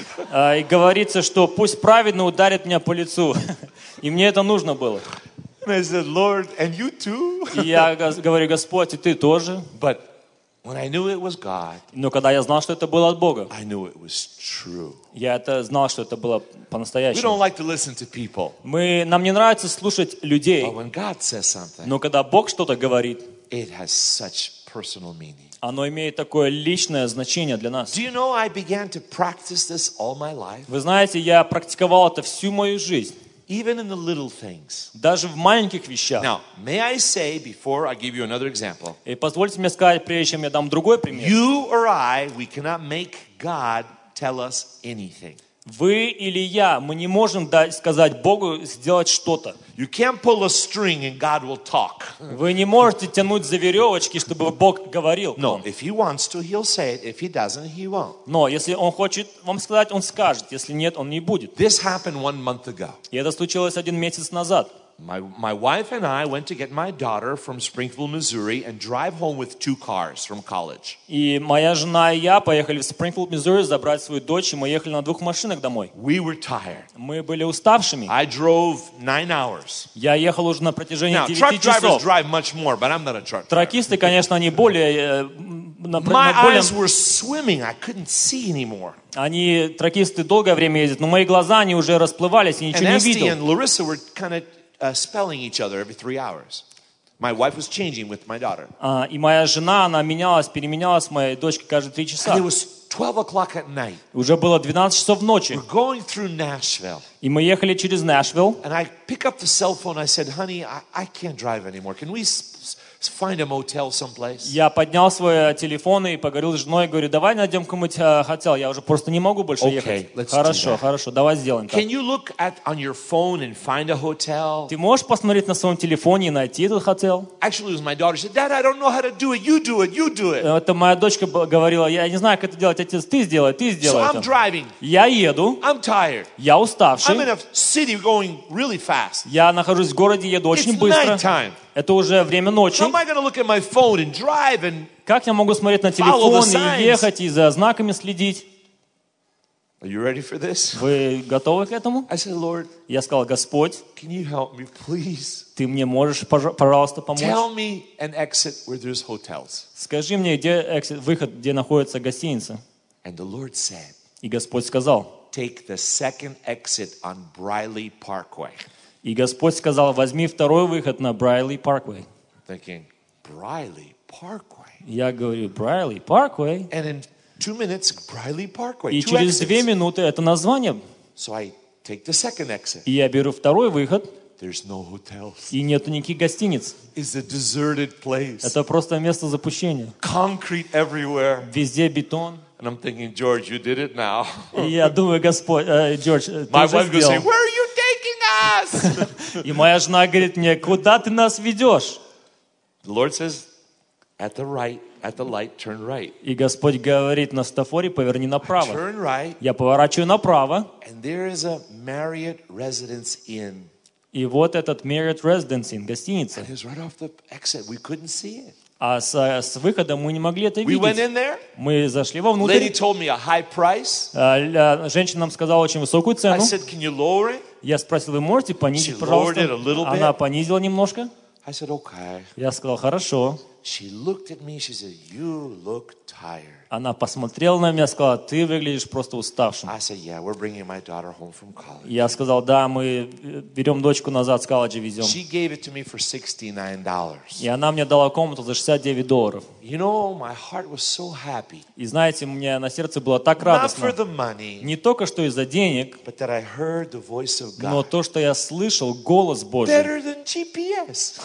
И говорится, что пусть праведно ударит меня по лицу. И мне это нужно было. And I said, Lord, and you too? И я говорю, Господь, и ты тоже. But when I knew it was God, Но когда я знал, что это было от Бога, I knew it was true. я это знал, что это было We don't по-настоящему. like to listen to people. Нам не нравится слушать людей, But when God says something, но когда Бог что-то говорит, it has such personal meaning. оно имеет такое личное значение для нас. Do you know I began to practice this all my life? Вы знаете, я практиковал это всю мою жизнь, Even in the little things. даже в маленьких вещах. Now, may I say, before I give you another example, И позвольте мне сказать, прежде чем я дам другой пример. you or I, we cannot make God tell us anything. Вы или я, мы не можем сказать Богу сделать что-то. You can't pull a string and God will talk. Вы не можете тянуть за веревочки, чтобы Бог говорил. No, if he wants to, he'll say it. If he doesn't, he won't. Но если Он хочет вам сказать, Он скажет. Если нет, Он не будет. This happened 1 month ago. И это случилось 1 месяц назад. My wife and I went to get my daughter from Springfield, Missouri, and drive home with 2 cars from college. И моя жена и я поехали в Спрингфилд, Миссури, забрать свою дочь, и мы ехали на 2 машинах домой. We were tired. Мы были уставшими. I drove 9 hours. Я ехал уже на протяжении Now, 9 truck drivers часов. drive much more, but I'm not a truck driver. Тракисты, конечно, они более... My eyes were swimming. I couldn't see anymore. Они, тракисты, долгое время ездят, но мои глаза, они уже расплывались, и And ничего не Esty видел. and Larissa were kind of spelling each other every 3 hours. My wife was changing with my daughter. И моя жена, она переменялась с моей дочкой каждые 3 And часа. it was 12 o'clock at night. Уже было 12 часов ночи. We're going through Nashville. И мы ехали через Нэшвилл. And I pick up the cell phone. I said, honey, I can't drive anymore. Can we find a motel someplace? Я поднял свой телефон и поговорил с женой, говорю, давай найдем какой-нибудь хотел, я уже просто не могу больше ехать. let's do Хорошо, that. хорошо, давай сделаем так. Can you look on your phone and find a hotel? Ты можешь посмотреть на своем телефоне и найти этот хотел? Actually, it was my daughter. She said, Dad, I don't know how to do it. You do it. You do it. Это моя дочка говорила, я не знаю, как это делать, отец, ты сделай So I'm это. driving. Я еду, I'm tired. я I'm in уставший, a city going really fast. я нахожусь в городе, еду очень It's быстро. nighttime. Это уже время ночи. How am I going to look at my phone and drive and... Как я могу смотреть на Follow телефон the signs. и ехать, и за знаками следить? Are you ready for this? Вы готовы к этому? I said, Lord, Я сказал, Господь, can you help me, please? ты мне можешь, пожалуйста, помочь? Tell me an exit where there's hotels. Скажи мне, где выход, где находится гостиница? And the Lord said, И Господь сказал, take the second exit on Briley Parkway. и Господь сказал, возьми второй выход на Брайли Парквей. Thinking, Briley Parkway? Я говорю, Брайли Парквей. And in 2 minutes, Briley Parkway. И 2 через 2 exits. минуты это название. So I take the second exit. И я беру второй выход, There's no hotels. и нету никаких гостиниц. It's a deserted place. Это просто место запущения. Concrete everywhere. Везде бетон. And I'm thinking, George, you did it now. И я думаю, Господь, Джордж, ты My уже wife goes, say, сделал. where are you taking us? И моя жена говорит мне, куда ты нас ведешь? The Lord says, at the light, turn right. И Господь говорит на стафоре, поверни направо. Turn right, Я поворачиваю направо, and there is a Marriott Residence Inn. и вот этот Marriott Residence Inn, гостиница. It was right off the exit. We couldn't see it. А с выхода мы не могли это We went видеть. in there. Мы зашли Lady вовнутрь. told me a high price. Женщина нам сказала очень высокую I цену. said, can you lower it? Я спросил, вы можете понизить, She пожалуйста? lowered it a little bit. Она понизила немножко. I said, okay. Я сказал, хорошо. She looked at me. She said, you look tired. Она посмотрела на меня, сказала, ты выглядишь просто уставшим. I said, yeah, we're bringing my daughter home from college. Я сказал, да, мы берем дочку назад с колледжа, везем. She gave it to me for $69. И она мне дала комнату за $69. You know, my heart was so happy. И знаете, мне на сердце было так Not for радостно. the money, Не только что из-за денег, but that I heard the voice of но God. то, что я слышал голос Божий. Better than GPS.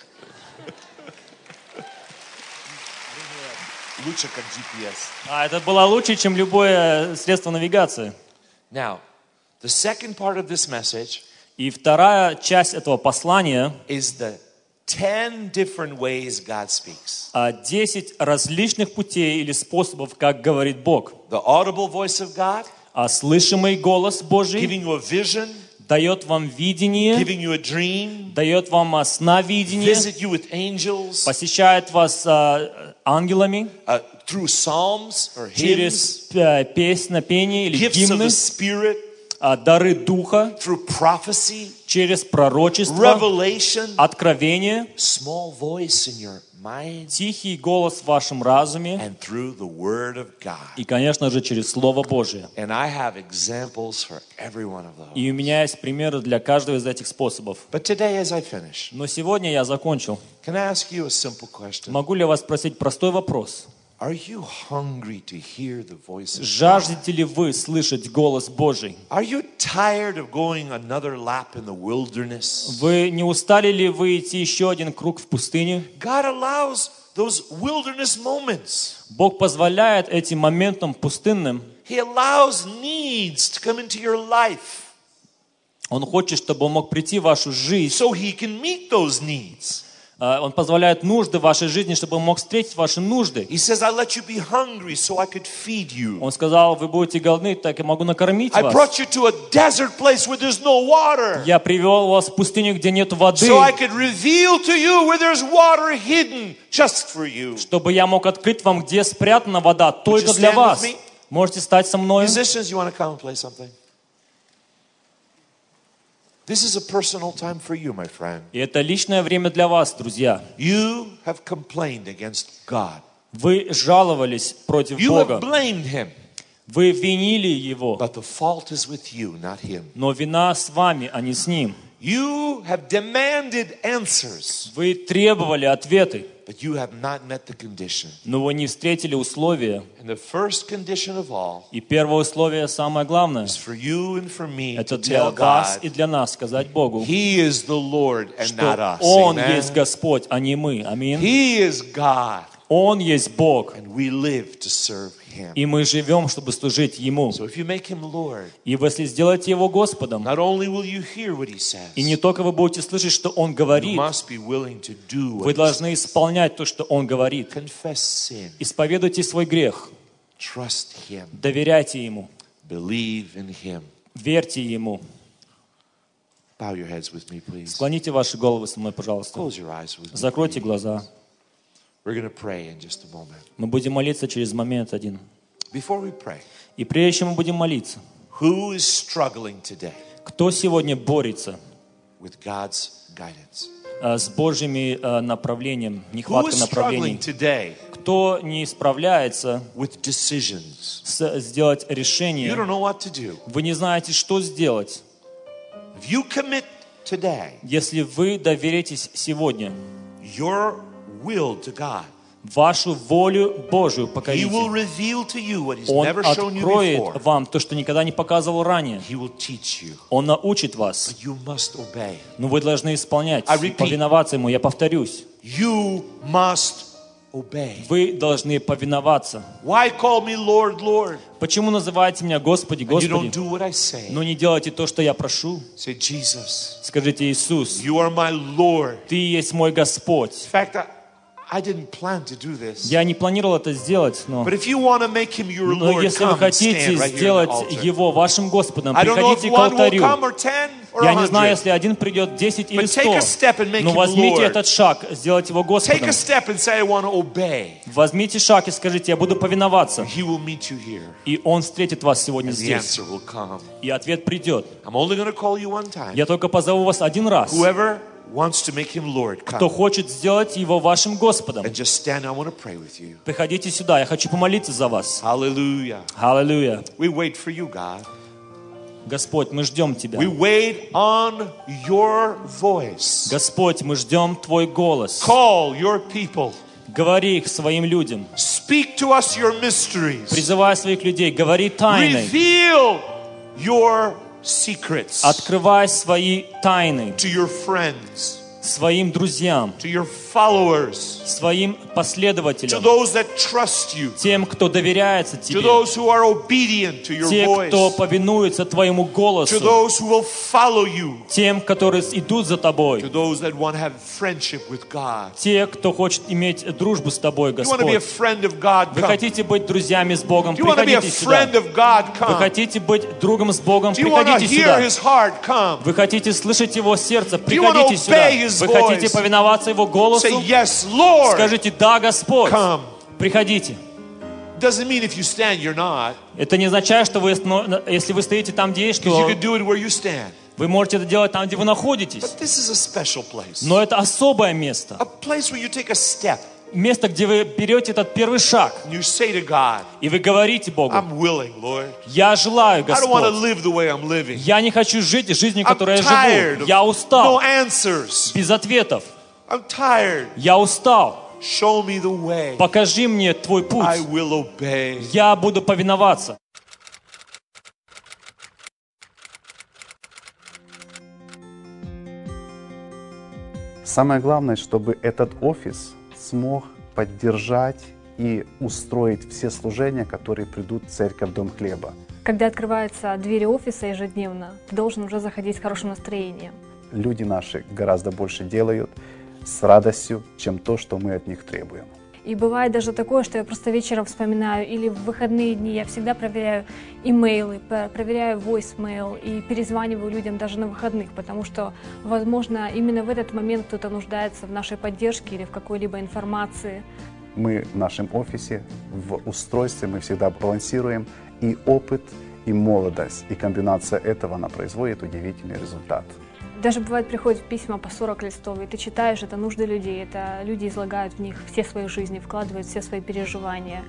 Лучше как GPS. Это было лучше, чем любое средство навигации. Now, the second part of this message И вторая часть этого послания is the 10 different ways God speaks. 10 различных путей или способов, как говорит Бог. The audible voice of God, Слышимый голос Божий giving you a vision, дает вам видение, giving you a dream, дает вам сновидение, visit you with angels, посещает вас ангелами through psalms or hymns, через песнопение или gifts of the гимны, Spirit, дары Духа, through prophecy, через пророчество, revelation, откровение, small voice in your mind, тихий голос в вашем разуме and through the Word of God. и, конечно же, через Слово Божие. And I have examples for every one of those. И у меня есть примеры для каждого из этих способов. But today, as I finish, Но сегодня я закончил. can I ask you a simple question? Могу ли я вас спросить простой вопрос? Are you hungry to hear the voice of God? Жаждете ли вы слышать голос Божий? Are you tired of going another lap in the wilderness? Вы не устали ли вы идти еще один круг в пустыне? God allows those wilderness moments. Бог позволяет этим моментам пустынным. He allows needs to come into your life Он хочет, чтобы Он мог прийти в вашу жизнь, so He can meet those needs. Он позволяет нужды в вашей жизни, чтобы Он мог встретить ваши нужды. He says, I let you be hungry so I could feed you. Он сказал, вы будете голодны, так я могу накормить I вас. brought you to a desert place where there's no water. Я привел вас в пустыню, где нет воды, So I could reveal to you where there's water hidden just for you. чтобы я мог открыть вам, где спрятана вода, только для stand вас. with me? Можете стать со мной. Musicians, you want to come and play something? This is a personal time for you, my friend. И это личное время для вас, друзья. You have complained against God. Вы жаловались против You have Бога. blamed Him. Вы винили Его. But the fault is with you, not Him. Но вина с вами, а не с Ним. You have demanded answers, Вы требовали ответы, but you have not met the condition. но вы не встретили условия. And the first condition of all И первое условие, самое главное, is for you and for me это to для tell вас God и для нас сказать Богу, He is the Lord and not что us. Он Amen? есть Господь, а не мы. Аминь. He is God, Он есть Бог, and we live to serve Him. и мы живем, чтобы служить Ему. So if you make Him Lord, И если сделаете Его Господом, not only will you hear what He says, и не только вы будете слышать, что Он you говорит, must be willing to do вы what He должны исполнять то, что Он говорит. says. Confess sin, Исповедуйте свой грех, trust Him, доверяйте Ему, believe in Him. верьте Ему. Bow your heads with me, please. Склоните ваши головы со мной, пожалуйста. Close your eyes with me. Закройте глаза. We're going to pray in just a moment. Мы будем молиться через момент один. Before we pray, И прежде чем мы будем молиться, who is struggling today кто сегодня борется with God's guidance? с Божьим направлением, Who нехваткой is struggling направлений? today Кто не справляется with decisions? сделать You решение? don't know what to do. Вы не знаете, что сделать. If you commit today Если вы доверитесь сегодня your will to God, вашу волю Божию He покорите, will reveal to you what He's Он never shown you откроет before. вам то, что никогда не показывал ранее. He will teach you. Он научит вас. But you must obey. Но вы должны исполнять, I repeat. повиноваться Ему. Я повторюсь. You must obey. Вы должны повиноваться. Why call me Lord, Lord? Почему называете меня Господи, And you don't Господи, do what I say. но не делаете то, что я прошу? Say, Jesus, Скажите, Иисус, you are my Lord. Ты есть мой Господь. In fact, I didn't plan to do this. Я не планировал это сделать, но But if you want to make Him your если Lord, вы come and хотите stand right here сделать at the altar. Его вашим Господом, I don't know if приходите к one will алтарю. come or 10 or Я не знаю, 100. если один придет, 10 или But take a 100. step and make Но Him возьмите Lord. этот шаг, сделайте его Take Господом. a step and say, I want to obey. Возьмите шаг и скажите, я буду повиноваться. He will meet you here. И Он встретит вас сегодня And the здесь. answer will come. И ответ придет. I'm only going to call you one time. Я только позову вас один раз. Whoever wants to make Him Lord, Кто come. хочет сделать Его вашим Господом, And just stand. I want to pray with you. приходите сюда. Я хочу помолиться за вас. Hallelujah. Аллилуйя. We wait for you, God. Господь, мы ждем Тебя. We wait on your voice. Господь, мы ждем Твой голос. Call your people. Говори к своим людям. Speak to us your mysteries. Призывай своих людей. Говори тайны. Reveal your secrets Открывай свои тайны to your friends, своим друзьям, to your followers, своим to последователям, those that trust you, тем, кто доверяется to Тебе, those who are obedient to your те, кто voice, повинуется Твоему to голосу, those who will follow you, тем, которые идут за Тобой, to those that want to have friendship with God. те, кто хочет иметь дружбу с Тобой, You want to be a Господь. friend of God? Вы Come. хотите быть друзьями с Богом? Do you want to be a Приходите сюда. friend of God? Вы Come. хотите быть другом с Богом? Do you want to Приходите hear сюда. His heart? Come. Вы хотите слышать Его сердце? you wanna Приходите сюда. obey His Вы хотите voice? повиноваться Его голосу? Say yes, Lord. Скажите, да, Господь. Come. Приходите. Doesn't mean if you stand, you're not. Это не означает, что вы, если вы стоите там, где есть, Because you что can do it where you stand. вы можете это делать там, где вы находитесь. But this is a special place. Но это особое место. A place where you take a step Место, где вы берете этот первый шаг, and you say to God, и вы говорите Богу, I'm willing, Lord. я желаю, I don't want to Господь. live the way I'm living. Я не хочу жить жизнью, I'm которой я tired живу. of Я no устал. answers. Без ответов. I'm tired. Я устал. Show me the way. Покажи мне Твой путь. I will obey. Я буду повиноваться. Самое главное, чтобы этот офис смог поддержать и устроить все служения, которые придут в церковь Дом Хлеба. Когда открываются двери офиса ежедневно, ты должен уже заходить с хорошим настроением. Люди наши гораздо больше делают, с радостью, чем то, что мы от них требуем. И бывает даже такое, что я просто вечером вспоминаю, или в выходные дни я всегда проверяю имейлы, проверяю voicemail и перезваниваю людям даже на выходных, потому что, возможно, именно в этот момент кто-то нуждается в нашей поддержке или в какой-либо информации. Мы в нашем офисе, в устройстве мы всегда балансируем и опыт, и молодость, и комбинация этого она производит удивительный результат. Даже бывает, приходят письма по 40 листов, и ты читаешь, это нужды людей, это люди излагают в них все свои жизни, вкладывают все свои переживания.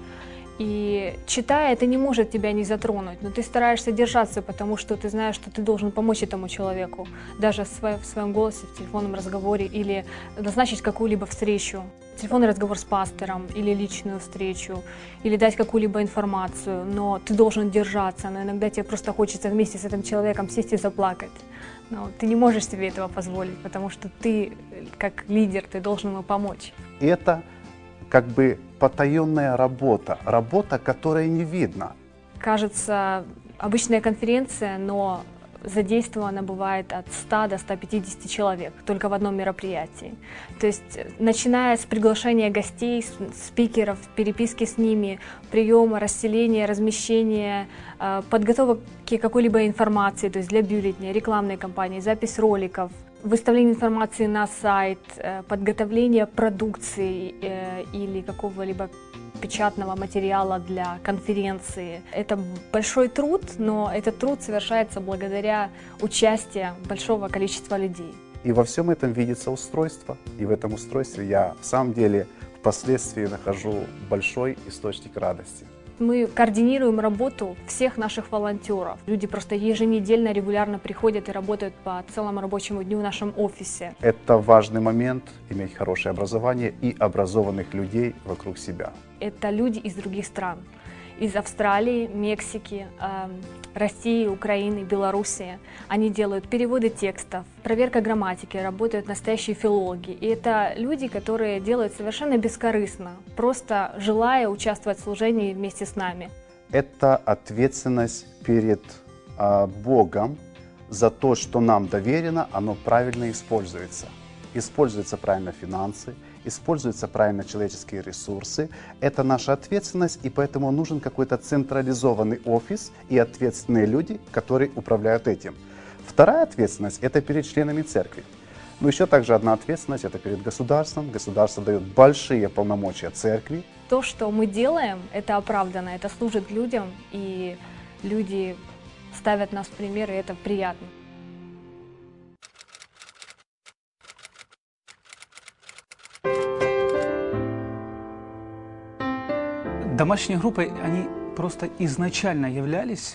И читая, это не может тебя не затронуть, но ты стараешься держаться, потому что ты знаешь, что ты должен помочь этому человеку, даже в своем голосе, в телефонном разговоре, или назначить какую-либо встречу, телефонный разговор с пастором, или личную встречу, или дать какую-либо информацию, но ты должен держаться, но иногда тебе просто хочется вместе с этим человеком сесть и заплакать. Но ты не можешь себе этого позволить, потому что ты, как лидер, ты должен ему помочь. Это как бы потаенная работа, которая не видна. Кажется, обычная конференция, но задействовано бывает от 100 до 150 человек только в одном мероприятии. То есть, начиная с приглашения гостей, спикеров, переписки с ними, приема, расселения, размещения, подготовки какой-либо информации, то есть для бюллетня, рекламной кампании, запись роликов, выставление информации на сайт, подготовление продукции или какого-либо печатного материала для конференции. Это большой труд, но этот труд совершается благодаря участию большого количества людей. И во всем этом видится устройство. И в этом устройстве я в самом деле впоследствии нахожу большой источник радости. Мы координируем работу всех наших волонтеров. Люди просто еженедельно, регулярно приходят и работают по целому рабочему дню в нашем офисе. Это важный момент — иметь хорошее образование и образованных людей вокруг себя. Это люди из других стран. Из Австралии, Мексики, России, Украины, Белоруссии. Они делают переводы текстов, проверка грамматики, работают настоящие филологи. И это люди, которые делают совершенно бескорыстно, просто желая участвовать в служении вместе с нами. Это ответственность перед Богом за то, что нам доверено, оно правильно используется. Используются правильно финансы, используются правильно человеческие ресурсы. Это наша ответственность, и поэтому нужен какой-то централизованный офис и ответственные люди, которые управляют этим. Вторая ответственность – это перед членами церкви. Но еще также одна ответственность – это перед государством. Государство дает большие полномочия церкви. То, что мы делаем, это оправданно, это служит людям, и люди ставят нас в пример, и это приятно. Домашние группы, они просто изначально являлись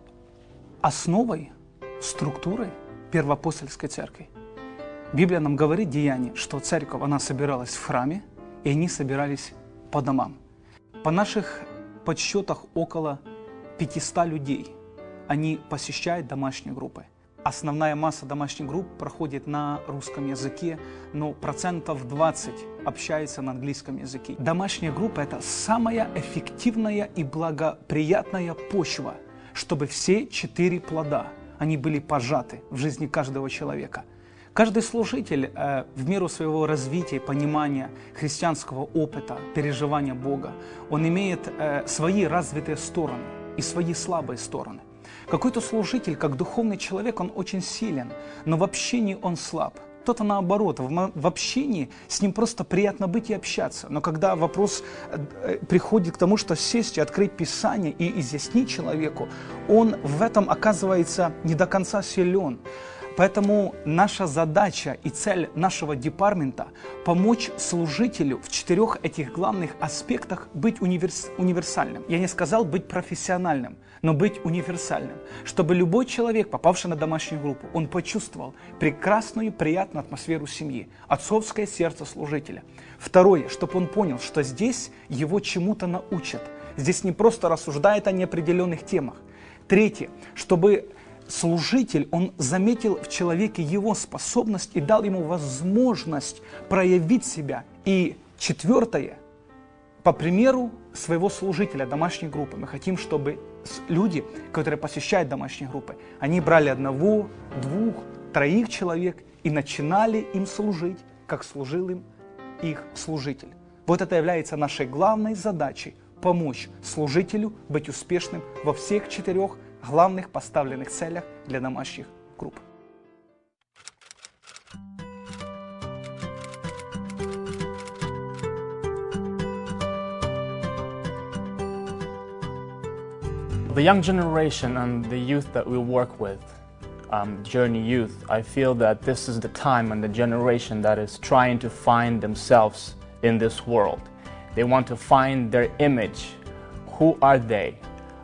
основой, структурой первоапостольской церкви. Библия нам говорит, Деяния, что церковь, она собиралась в храме, и они собирались по домам. По наших подсчетах около 500 людей, они посещают домашние группы. Основная масса домашних групп проходит на русском языке, но 20% общается на английском языке. Домашняя группа – это самая эффективная и благоприятная почва, чтобы все 4 плода, они были пожаты в жизни каждого человека. Каждый служитель в меру своего развития, понимания христианского опыта, переживания Бога, он имеет свои развитые стороны и свои слабые стороны. Какой-то служитель, как духовный человек, он очень силен, но в общении он слаб. Кто-то наоборот, в общении с ним просто приятно быть и общаться. Но когда вопрос приходит к тому, что сесть и открыть Писание и изъяснить человеку, он в этом оказывается не до конца силен. Поэтому наша задача и цель нашего департамента – помочь служителю в 4 этих главных аспектах быть универсальным. Я не сказал быть профессиональным, но быть универсальным. Чтобы любой человек, попавший на домашнюю группу, он почувствовал прекрасную, приятную атмосферу семьи, отцовское сердце служителя. Второе, чтобы он понял, что здесь его чему-то научат. Здесь не просто рассуждают о неопределенных темах. Третье, чтобы служитель, он заметил в человеке его способность и дал ему возможность проявить себя. И четвертое, по примеру своего служителя домашней группы, мы хотим, чтобы люди, которые посещают домашние группы, они брали 1, 2, 3 человек и начинали им служить. как служил им их служитель. Вот это является нашей главной задачей – помочь служителю быть успешным во всех 4 главных поставленных целях для домашних групп. The young generation and the youth that we work with, Journey Youth, I feel that this is the time and the generation that is trying to find themselves in this world. They want to find their image. Who are they?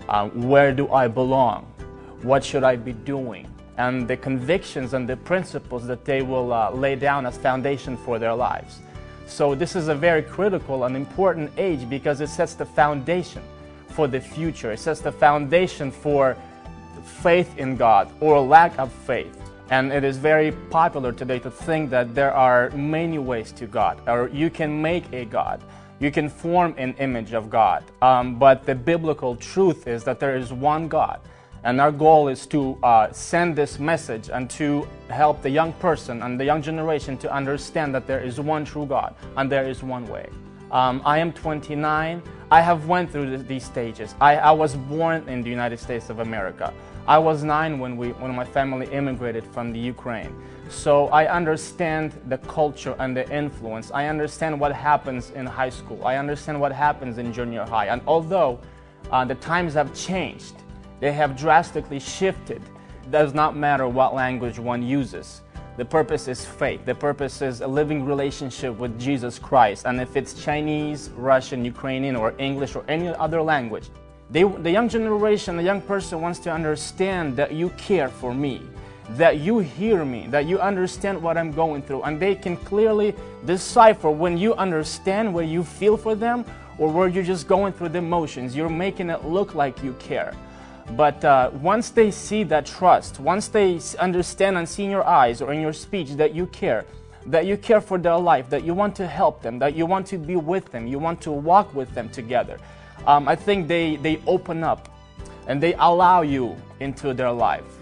Where do I belong? What should I be doing? And the convictions and the principles that they will lay down as foundation for their lives. So this is a very critical and important age because it sets the foundation for the future. It sets the foundation for faith in God or lack of faith. And it is very popular today to think that there are many ways to God, or you can make a God. You can form an image of God. But the biblical truth is that there is one God. And our goal is to send this message and to help the young person and the young generation to understand that there is one true God and there is one way. I am 29. I have went through these stages. I was born in the United States of America. I was 9 when my family immigrated from the Ukraine. So I understand the culture and the influence. I understand what happens in high school. I understand what happens in junior high. And although the times have changed, they have drastically shifted. It does not matter what language one uses. The purpose is faith. The purpose is a living relationship with Jesus Christ. And if it's Chinese, Russian, Ukrainian, or English, or any other language, the young generation, the young person wants to understand that you care for me, that you hear me, that you understand what I'm going through. And they can clearly decipher when you understand where you feel for them or where you're just going through the motions. You're making it look like you care. But once they see that trust, once they understand and see in your eyes or in your speech that you care for their life, that you want to help them, that you want to be with them, you want to walk with them together, I think they open up and they allow you into their life.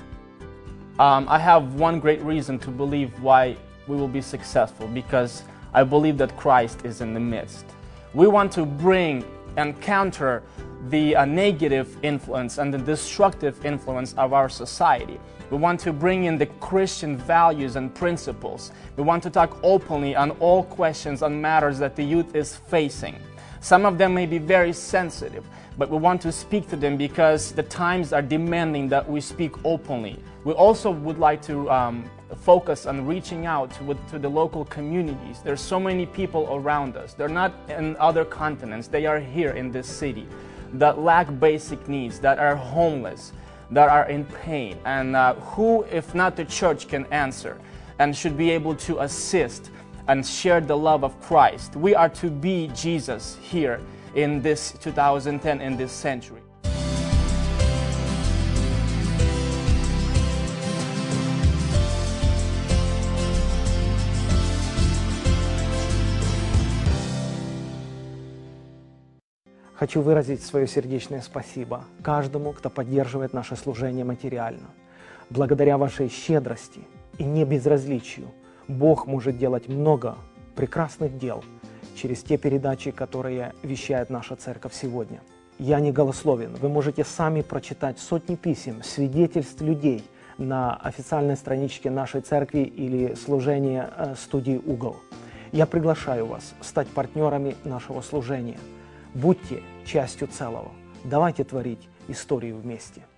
I have one great reason to believe why we will be successful, because I believe that Christ is in the midst. We want to bring and counter the negative influence and the destructive influence of our society. We want to bring in the Christian values and principles. We want to talk openly on all questions and matters that the youth is facing. Some of them may be very sensitive, but we want to speak to them because the times are demanding that we speak openly. We also would like to focus on reaching out to the local communities. There's so many people around us. They're not in other continents. They are here in this city that lack basic needs, that are homeless, that are in pain. And who, if not the church, can answer and should be able to assist and share the love of Christ. We are to be Jesus here in this 2010, in this century. Хочу выразить свое сердечное спасибо каждому, кто поддерживает наше служение материально. Благодаря вашей щедрости и небезразличию Бог может делать много прекрасных дел через те передачи, которые вещает наша церковь сегодня. Я не голословен. Вы можете сами прочитать сотни писем, свидетельств людей на официальной страничке нашей церкви или служения студии «Угол». Я приглашаю вас стать партнерами нашего служения. Будьте частью целого. Давайте творить историю вместе.